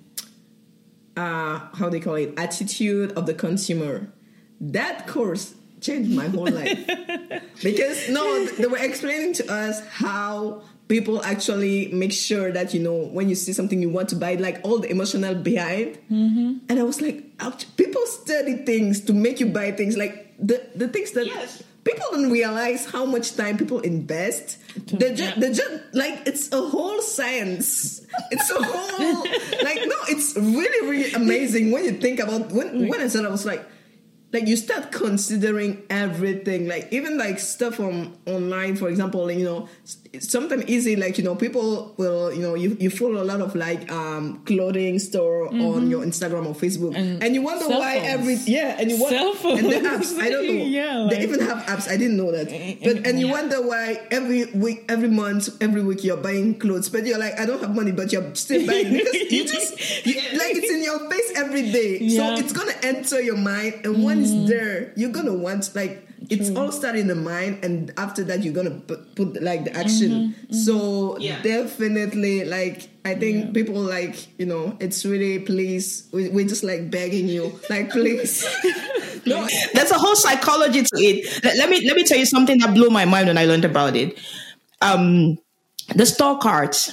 uh, how they call it, attitude of the consumer. That course changed my whole life. Because, no, they were explaining to us how people actually make sure that, you know, when you see something you want to buy, like all the emotional behind. Mm-hmm. And I was like, people study things to make you buy things, like the, the things that yes. people don't realize how much time people invest. They're just, they're just like, it's a whole science. It's a whole, like, no, it's really, really amazing when you think about, when, when I said, I was like, like you start considering everything, like even like stuff from online, for example, you know, sometimes easy, like, you know, people will, you know, you, you follow a lot of like um clothing store mm-hmm. on your Instagram or Facebook, and, and you wonder why phones. every yeah, and you wonder and the apps, I don't know, yeah, like, they even have apps. I didn't know that, but and you yeah. wonder why every week, every month, every week you're buying clothes, but you're like, I don't have money, but you're still buying because you just you, like it's in your face every day, yeah. so it's gonna enter your mind, and when it's there, you're gonna want, like, it's all started in the mind, and after that you're gonna put, put like the action. Mm-hmm, mm-hmm. So yeah. definitely, like, I think yeah. people, like, you know, it's really, please, we, we're just like begging you, like, please. No, there's a whole psychology to it. Let, let me let me tell you something that blew my mind when I learned about it. Um, the store cards.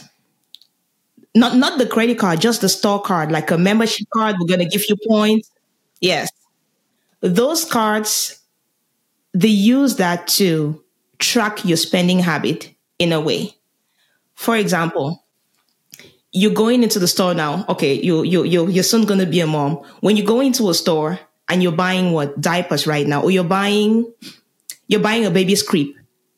Not not the credit card, just the store card, like a membership card. We're gonna give you points. Yes. Those cards, they use that to track your spending habit in a way. For example, you're going into the store now. Okay, you you you you're soon going to be a mom. When you go into a store and you're buying what diapers right now, or you're buying you're buying a baby's crib,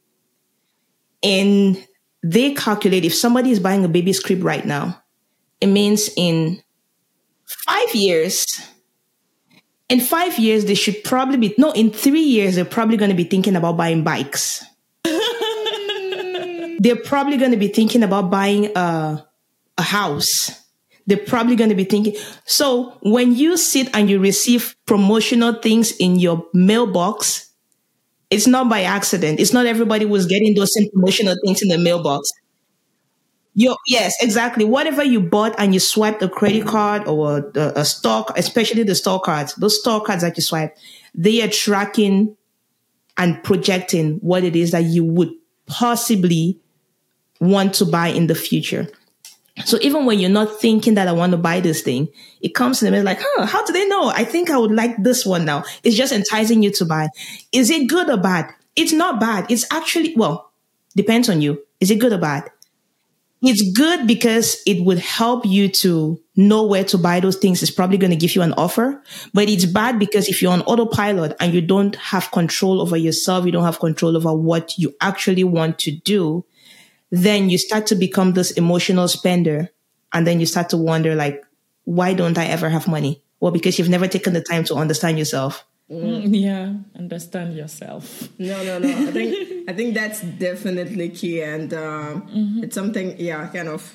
and they calculate if somebody is buying a baby's crib right now, it means in five years. In five years, they should probably be, no, in three years, they're probably going to be thinking about buying bikes. They're probably going to be thinking about buying a, a house. They're probably going to be thinking. So when you sit and you receive promotional things in your mailbox, it's not by accident. It's not everybody who's getting those same promotional things in the mailbox. You're, yes, exactly. Whatever you bought and you swiped a credit card or a, a stock, especially the store cards, those store cards that you swipe, they are tracking and projecting what it is that you would possibly want to buy in the future. So even when you're not thinking that I want to buy this thing, it comes to them and like, huh, how do they know? I think I would like this one now. It's just enticing you to buy. Is it good or bad? It's not bad. It's actually, well, depends on you. Is it good or bad? It's good because it would help you to know where to buy those things. It's probably going to give you an offer, but it's bad because if you're on autopilot and you don't have control over yourself, you don't have control over what you actually want to do, then you start to become this emotional spender. And then you start to wonder, like, why don't I ever have money? Well, because you've never taken the time to understand yourself. Mm. Yeah, understand yourself. No, no, no. I think I think that's definitely key, and um, mm-hmm. it's something. Yeah, kind of.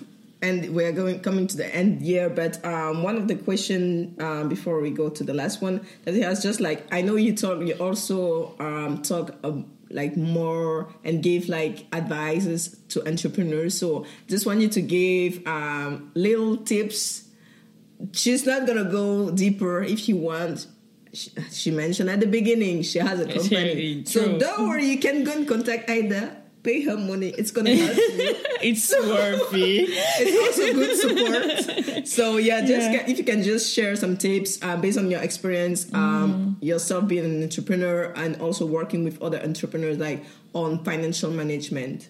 end. We are going coming to the end here, but um, one of the question um, before we go to the last one that he has just like I know you talk. You also um, talk um, like more and give like advices to entrepreneurs. So just want you to give um, little tips. She's not gonna go deeper if you want. She, she mentioned at the beginning she has a company, so don't worry. You can go and contact Ida. Pay her money. It's going to help you. It's worthy. It's also good support. So yeah, just yeah. Get, if you can just share some tips uh, based on your experience, um, mm. yourself being an entrepreneur and also working with other entrepreneurs, like on financial management.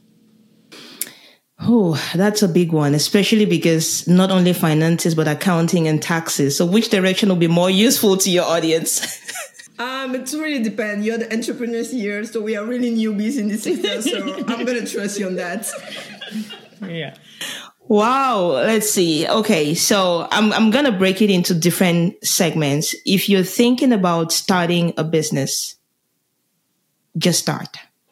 Oh, that's a big one, especially because not only finances, but accounting and taxes. So which direction will be more useful to your audience? Um, it really depends. You're the entrepreneurs here, so we are really newbies in this sector. So I'm gonna trust you on that. Yeah. Wow. Let's see. Okay, so I'm I'm gonna break it into different segments. If you're thinking about starting a business, just start.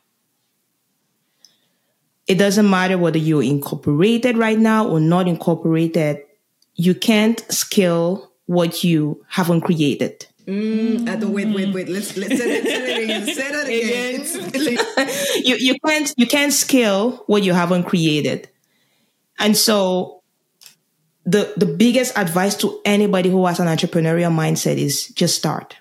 It doesn't matter whether you're incorporated right now or not incorporated. You can't scale what you haven't created. Mm, I don't, wait, wait, wait. Let's let's say that, say that again. Say that again. It's, it's, you you can't you can't scale what you haven't created, and so the the biggest advice to anybody who has an entrepreneurial mindset is just start.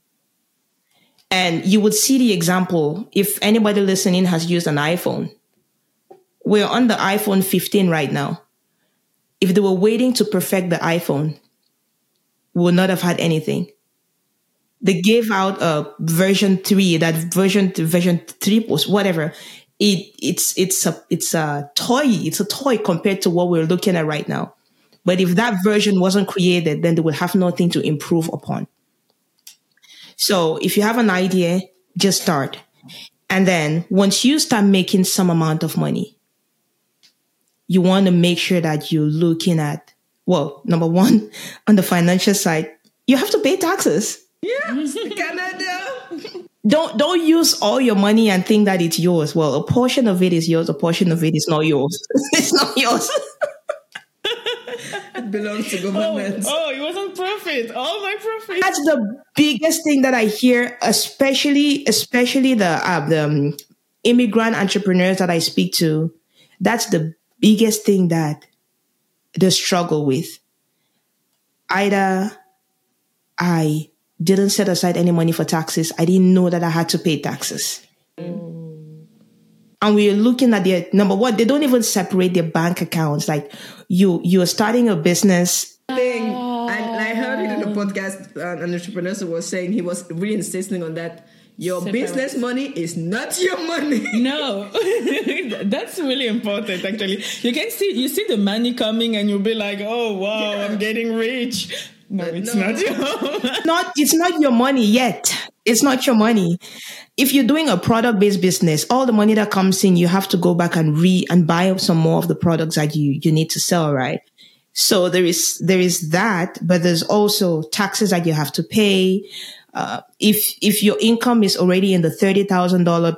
And you would see the example if anybody listening has used an iPhone. We're on the iPhone fifteen right now. If they were waiting to perfect the iPhone, we would not have had anything. They gave out a version three, that version version three post, whatever. It it's it's a it's a toy. It's a toy compared to what we're looking at right now. But if that version wasn't created, then they would have nothing to improve upon. So if you have an idea, just start. And then once you start making some amount of money, you want to make sure that you're looking at, well, number one, on the financial side, you have to pay taxes. Yes, Canada. Don't don't use all your money and think that it's yours. Well, a portion of it is yours, a portion of it is not yours. It's not yours. It belongs to government. Oh, oh, it wasn't profit. All my profit. That's the biggest thing that I hear, especially especially the uh, the um, immigrant entrepreneurs that I speak to. That's the biggest thing that they struggle with. Either I didn't set aside any money for taxes. I didn't know that I had to pay taxes. Mm. And we're looking at their, number one, they don't even separate their bank accounts. Like you, you're starting a business. Thing. And I heard it in a podcast, uh, an entrepreneur was saying, he was really insisting on that. Your Separate. Business money is not your money. No, that's really important. Actually, you can see, you see the money coming and you'll be like, oh, wow, yeah. I'm getting rich. No, but it's no. not your not it's not your money yet. It's not your money. If you're doing a product-based business, all the money that comes in, you have to go back and re and buy up some more of the products that you, you need to sell, right? So there is there is that, but there's also taxes that you have to pay. Uh, if if your income is already in the thirty thousand dollars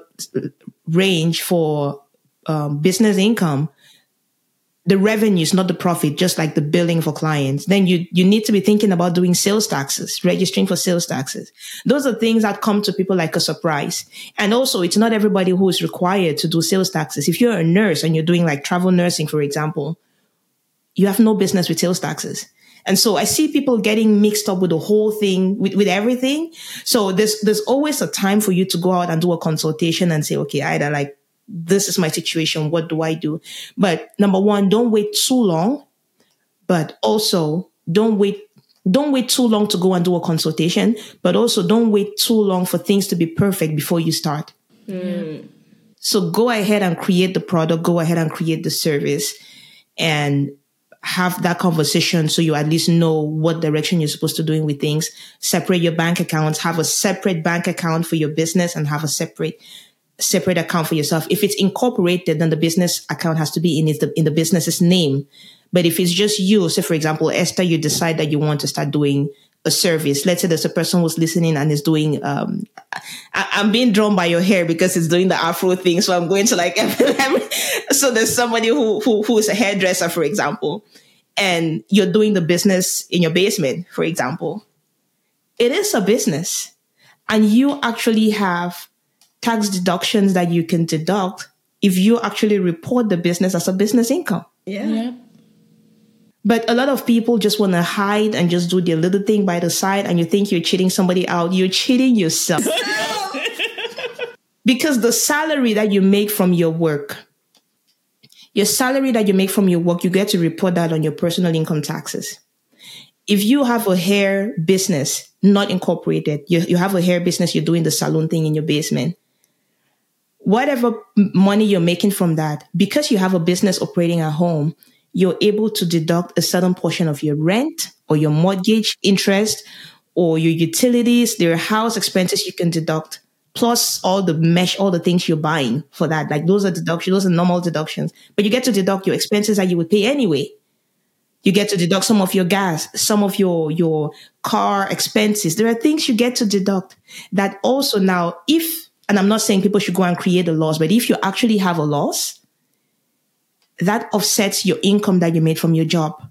range for um, business income, the revenue is not the profit, just like the billing for clients. Then you, you need to be thinking about doing sales taxes, registering for sales taxes. Those are things that come to people like a surprise. And also, it's not everybody who is required to do sales taxes. If you're a nurse and you're doing like travel nursing, for example, you have no business with sales taxes. And so I see people getting mixed up with the whole thing, with, with everything. So there's, there's always a time for you to go out and do a consultation and say, okay, either like, this is my situation. What do I do? But number one, don't wait too long, but also don't wait, don't wait too long to go and do a consultation, but also don't wait too long for things to be perfect before you start. Mm. So go ahead and create the product, go ahead and create the service and have that conversation so you at least know what direction you're supposed to do with things. Separate your bank accounts, have a separate bank account for your business and have a separate separate account for yourself. If it's incorporated, then the business account has to be in it, in the business's name. But if it's just you, say for example, Esther, you decide that you want to start doing a service. Let's say there's a person who's listening and is doing, um, I, I'm being drawn by your hair because it's doing the Afro thing. So I'm going to like, so there's somebody who, who, who is a hairdresser, for example, and you're doing the business in your basement, for example. It is a business, and you actually have tax deductions that you can deduct if you actually report the business as a business income. Yeah. Yeah. But a lot of people just want to hide and just do their little thing by the side, and you think you're cheating somebody out. You're cheating yourself. Because the salary that you make from your work, your salary that you make from your work, you get to report that on your personal income taxes. If you have a hair business, not incorporated, you, you have a hair business, you're doing the salon thing in your basement, whatever money you're making from that, because you have a business operating at home, you're able to deduct a certain portion of your rent or your mortgage interest or your utilities, their house expenses you can deduct, plus all the mesh, all the things you're buying for that. Like those are deductions, those are normal deductions. But you get to deduct your expenses that you would pay anyway. You get to deduct some of your gas, some of your, your car expenses. There are things you get to deduct that also now, if, and I'm not saying people should go and create a loss, but if you actually have a loss, that offsets your income that you made from your job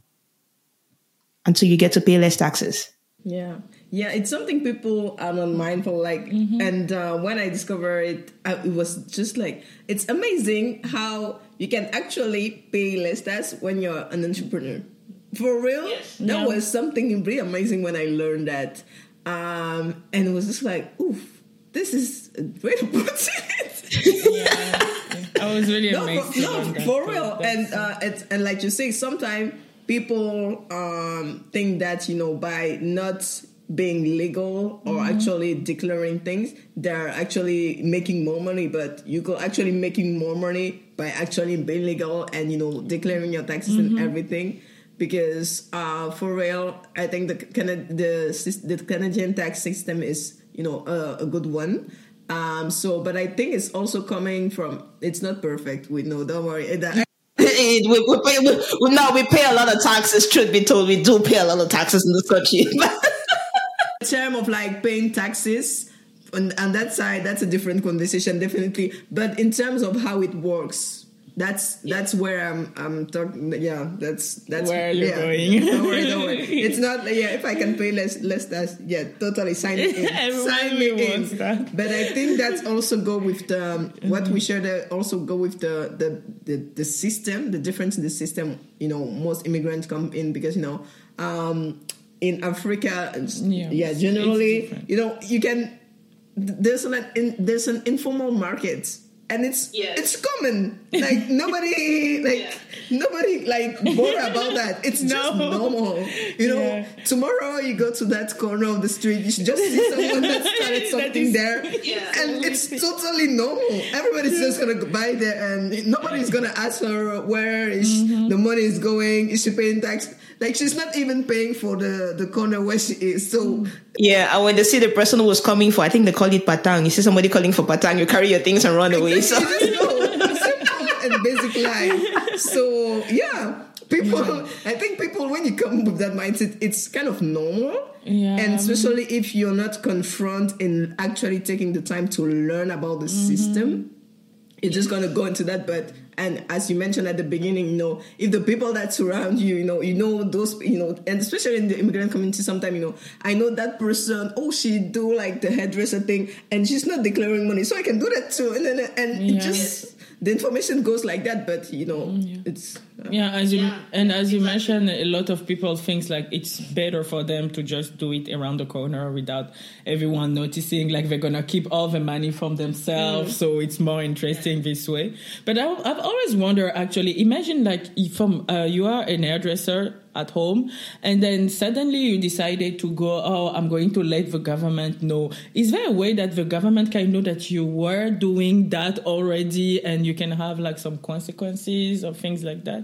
until you get to pay less taxes. Yeah. Yeah, it's something people are not mindful, like, mm-hmm. and uh, when I discovered it, I, it was just like, it's amazing how you can actually pay less tax when you're an entrepreneur. For real, yes. that yeah. was something really amazing when I learned that. Um, and it was just like, oof, this is a great opportunity. yeah. I was really no, amazed. For, no, that for real. That's and, uh, it's, and like you say, sometimes people um, think that, you know, by not being legal or mm-hmm. actually declaring things, they're actually making more money, but you could actually making more money by actually being legal and, you know, declaring your taxes mm-hmm. and everything. Because uh, for real, I think the Canad- the the Canadian tax system is, you know, a, a good one. Um, so, but I think it's also coming from, it's not perfect. We know, don't worry. That, we, we pay, we, no, we pay a lot of taxes. Truth be told, we do pay a lot of taxes in this country. In terms of like paying taxes, on, on that side, that's a different conversation, definitely. But in terms of how it works, that's that's where I'm I'm talking. Yeah, that's that's where you're yeah. going. Don't worry, don't worry. It's not. Yeah, if I can pay less, less tax, yeah, totally sign me in. Sign me in. That. But I think that's also go with the um, mm-hmm. what we shared. Uh, also go with the, the the the system, the difference in the system. You know, most immigrants come in because you know. Um, in Africa, yeah, yeah generally, you know, you can. There's an in, there's an informal market, and it's yes. it's common. Like nobody, like yeah. nobody, like bother about that. It's no. just normal. You know, yeah. tomorrow you go to that corner of the street, you should just see someone that started something that is, there, yeah. and it's totally normal. Everybody's just gonna buy there, and nobody's gonna ask her where is mm-hmm. the money is going. Is she paying tax? Like, she's not even paying for the, the corner where she is. So yeah, and when they see the person who was coming for, I think they call it patang. You see somebody calling for patang, you carry your things and run away. Exactly, So you just go. Simple and basic life. So yeah, people, I think people, when you come with that mindset, it's kind of normal. Yeah. And especially if you're not confronted in actually taking the time to learn about the mm-hmm. system, you're just going to go into that. But, and as you mentioned at the beginning, you know, if the people that surround you, you know, you know, those, you know, and especially in the immigrant community, sometimes, you know, I know that person, oh, she do like the hairdresser thing and she's not declaring money. So I can do that too. And then, and yeah. it just, the information goes like that. But, you know, yeah. it's. Uh, yeah, as you, yeah. and as you mentioned, a lot of people think like it's better for them to just do it around the corner without everyone noticing, like they're going to keep all the money from themselves. Mm. So it's more interesting this way. But I, I've always wondered, actually, imagine like if from, uh, you are an hairdresser at home and then suddenly you decided to go, oh, I'm going to let the government know. Is there a way that the government can know that you were doing that already and you can have like some consequences or things like that?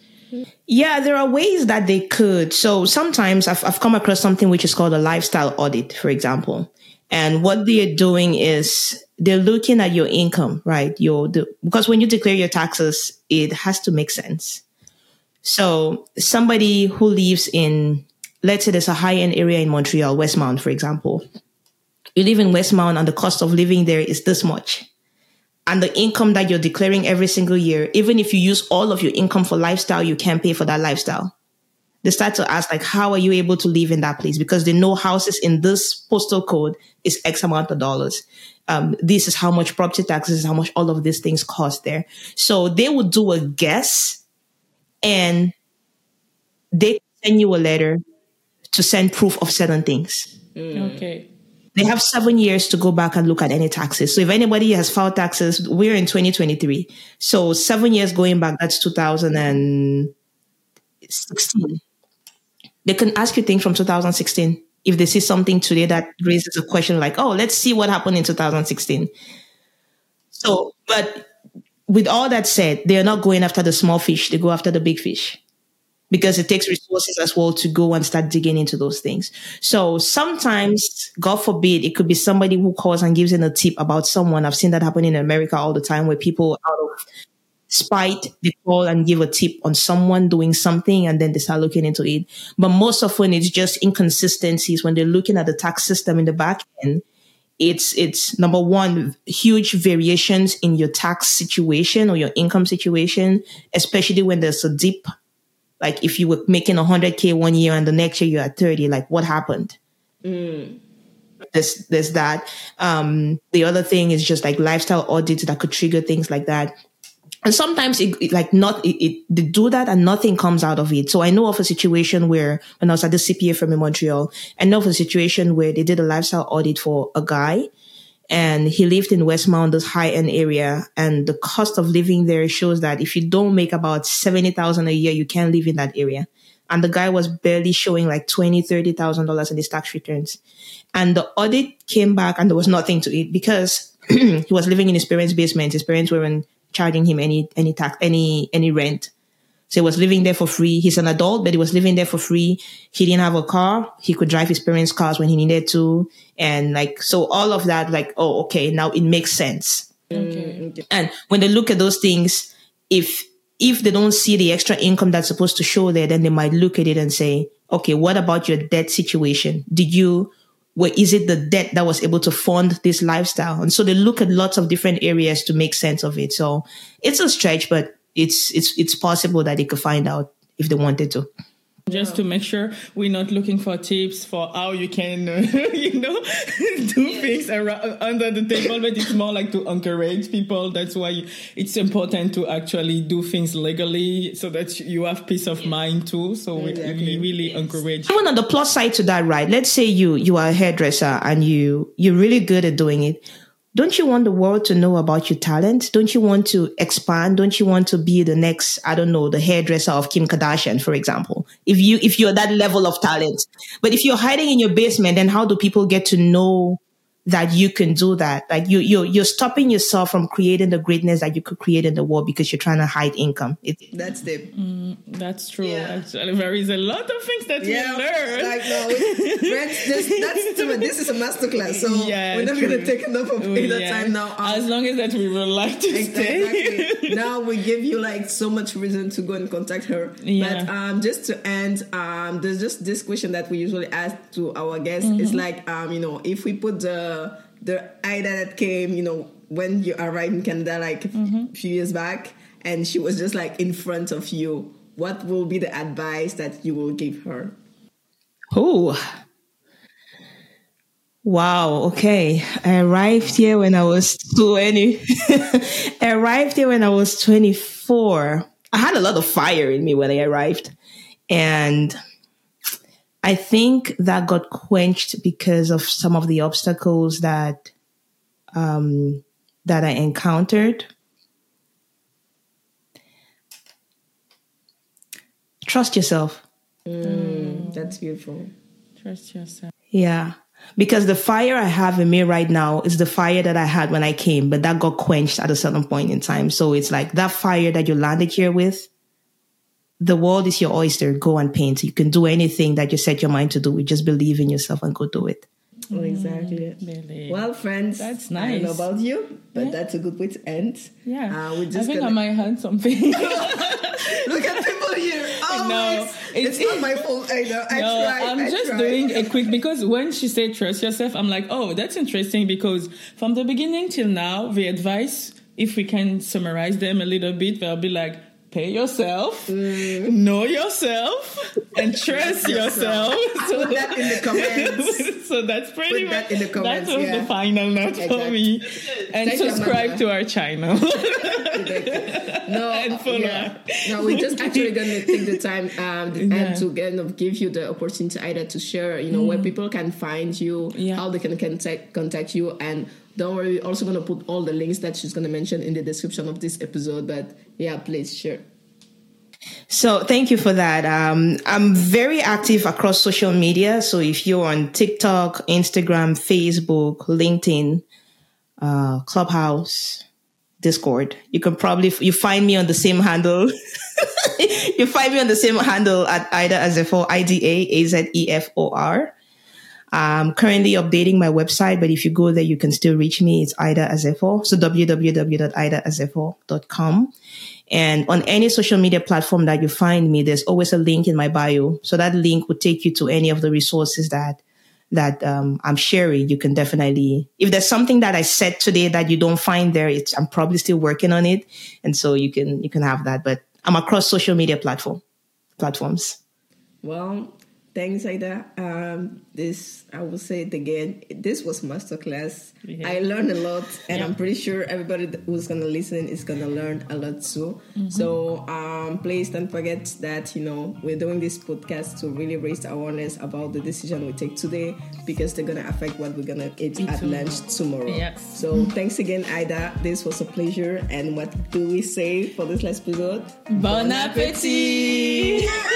Yeah, there are ways that they could. So sometimes I've, I've come across something which is called a lifestyle audit, for example. And what they're doing is they're looking at your income, right? Your the, because when you declare your taxes, it has to make sense. So somebody who lives in, let's say there's a high-end area in Montreal, Westmount, for example. You live in Westmount and the cost of living there is this much. And the income that you're declaring every single year, even if you use all of your income for lifestyle, you can't pay for that lifestyle. They start to ask, like, how are you able to live in that place? Because they know houses in this postal code is X amount of dollars. Um, this is how much property taxes, how much all of these things cost there. So they would do a guess and they send you a letter to send proof of certain things. Mm. Okay. They have seven years to go back and look at any taxes. So if anybody has filed taxes, we're in twenty twenty-three. So seven years going back, that's two thousand sixteen. They can ask you things from two thousand sixteen. If they see something today that raises a question like, oh, let's see what happened in two thousand sixteen. So, but with all that said, they're not going after the small fish. They go after the big fish. Because it takes resources as well to go and start digging into those things. So sometimes, God forbid, it could be somebody who calls and gives in a tip about someone. I've seen that happen in America all the time where people out of spite, they call and give a tip on someone doing something and then they start looking into it. But most often it's just inconsistencies when they're looking at the tax system in the back end. It's, it's number one, huge variations in your tax situation or your income situation, especially when there's a dip. Like if you were making one hundred K one year and the next year you're at thirty, like what happened? Mm. There's, there's that. Um, the other thing is just like lifestyle audits that could trigger things like that. And sometimes it, it like not, it, it, they do that and nothing comes out of it. So I know of a situation where when I was at the C P A firm in Montreal, I know of a situation where they did a lifestyle audit for a guy. And he lived in Westmount, this high-end area. And the cost of living there shows that if you don't make about seventy thousand dollars a year, you can't live in that area. And the guy was barely showing like twenty thousand dollars, thirty thousand dollars in his tax returns. And the audit came back and there was nothing to it because he was living in his parents' basement. His parents weren't charging him any, any tax, any, any rent. So he was living there for free. He's an adult, but he was living there for free. He didn't have a car. He could drive his parents' cars when he needed to. And like, so all of that, like, oh, okay, now it makes sense. Okay. And when they look at those things, if, if they don't see the extra income that's supposed to show there, then they might look at it and say, okay, what about your debt situation? Did you, where is it the debt that was able to fund this lifestyle? And so they look at lots of different areas to make sense of it. So it's a stretch, but it's it's it's possible that they could find out if they wanted to. Just to make sure we're not looking for tips for how you can, uh, you know, do things around, under the table, but it's more like to encourage people. That's why it's important to actually do things legally so that you have peace of mind too. So exactly. we really yes. encourage. Even on the plus side to that, right? Let's say you you are a hairdresser and you you're really good at doing it. Don't you want the world to know about your talent? Don't you want to expand? Don't you want to be the next, I don't know, the hairdresser of Kim Kardashian, for example? If you, if you're that level of talent. But if you're hiding in your basement, then how do people get to know that you can do that? Like you, you're, you're stopping yourself from creating the greatness that you could create in the world because you're trying to hide income. It, that's the, mm, that's true. Yeah. Actually, there is a lot of things that yeah, we learn. Like no, friends, just, that's too much. This is a masterclass, so yeah, we're not going to take enough of oh, either yeah. time now. Um, as long as that we would like to exactly. stay. Now we give you like so much reason to go and contact her. Yeah. But um, just to end, um, there's just this question that we usually ask to our guests. Mm-hmm. It's like um, you know, if we put the the Ida that came, you know, when you arrived in Canada like mm-hmm. a few years back, and she was just like in front of you, what will be the advice that you will give her? Oh, wow. Okay. I arrived here when I was twenty. I arrived here when I was twenty-four. I had a lot of fire in me when I arrived. And I think that got quenched because of some of the obstacles that um, that I encountered. Trust yourself. Mm, that's beautiful. Trust yourself. Yeah. Because the fire I have in me right now is the fire that I had when I came, but that got quenched at a certain point in time. So it's like that fire that you landed here with, the world is your oyster. Go and paint. You can do anything that you set your mind to do. You just believe in yourself and go do it. Oh, exactly. Really. Well, friends, That's I don't know nice. about you, but Yeah. that's a good way to end. Yeah. Uh, we're I just think gonna... I might have something. Look at people here. Oh, No, it's, it's not my fault either. I no, tried. I'm I just tried. doing a quick, because when she said trust yourself, I'm like, oh, that's interesting, because from the beginning till now, the advice, if we can summarize them a little bit, they'll be like, pay yourself, mm. know yourself, and trust yourself. So put that in the comments. So that's pretty Put that much in the comments, that was yeah. the final note Exactly. for me. And Thank you, subscribe Amanda. to our channel. No, And follow yeah. No, we're just actually going to take the time um, the Yeah. end to kind of give you the opportunity either to share, you know, Mm. where people can find you, Yeah. how they can contact contact you, and don't worry, we're also going to put all the links that she's going to mention in the description of this episode. But yeah, please share. So thank you for that. Um, I'm very active across social media. So if you're on TikTok, Instagram, Facebook, LinkedIn, uh, Clubhouse, Discord, you can probably, you find me on the same handle. You find me on the same handle at Ida Azefor, I D A A Z E F O R. I'm currently updating my website, but if you go there, you can still reach me. It's Ida Azefor. So w w w dot ida azefor dot com. And on any social media platform that you find me, there's always a link in my bio. So that link would take you to any of the resources that that um, I'm sharing. You can definitely, if there's something that I said today that you don't find there, it's, I'm probably still working on it. And so you can you can have that. But I'm across social media platform platforms. Well, thanks, Ida. Um, this, I will say it again, this was masterclass. Yeah. I learned a lot, and Yeah. I'm pretty sure everybody who's going to listen is going to learn a lot too. Mm-hmm. So um, please don't forget that, you know, we're doing this podcast to really raise the awareness about the decision we take today, because they're going to affect what we're going to eat Eat at tomorrow. lunch tomorrow. Yes. So thanks again, Ida. This was a pleasure. And what do we say for this last episode? Bon appétit!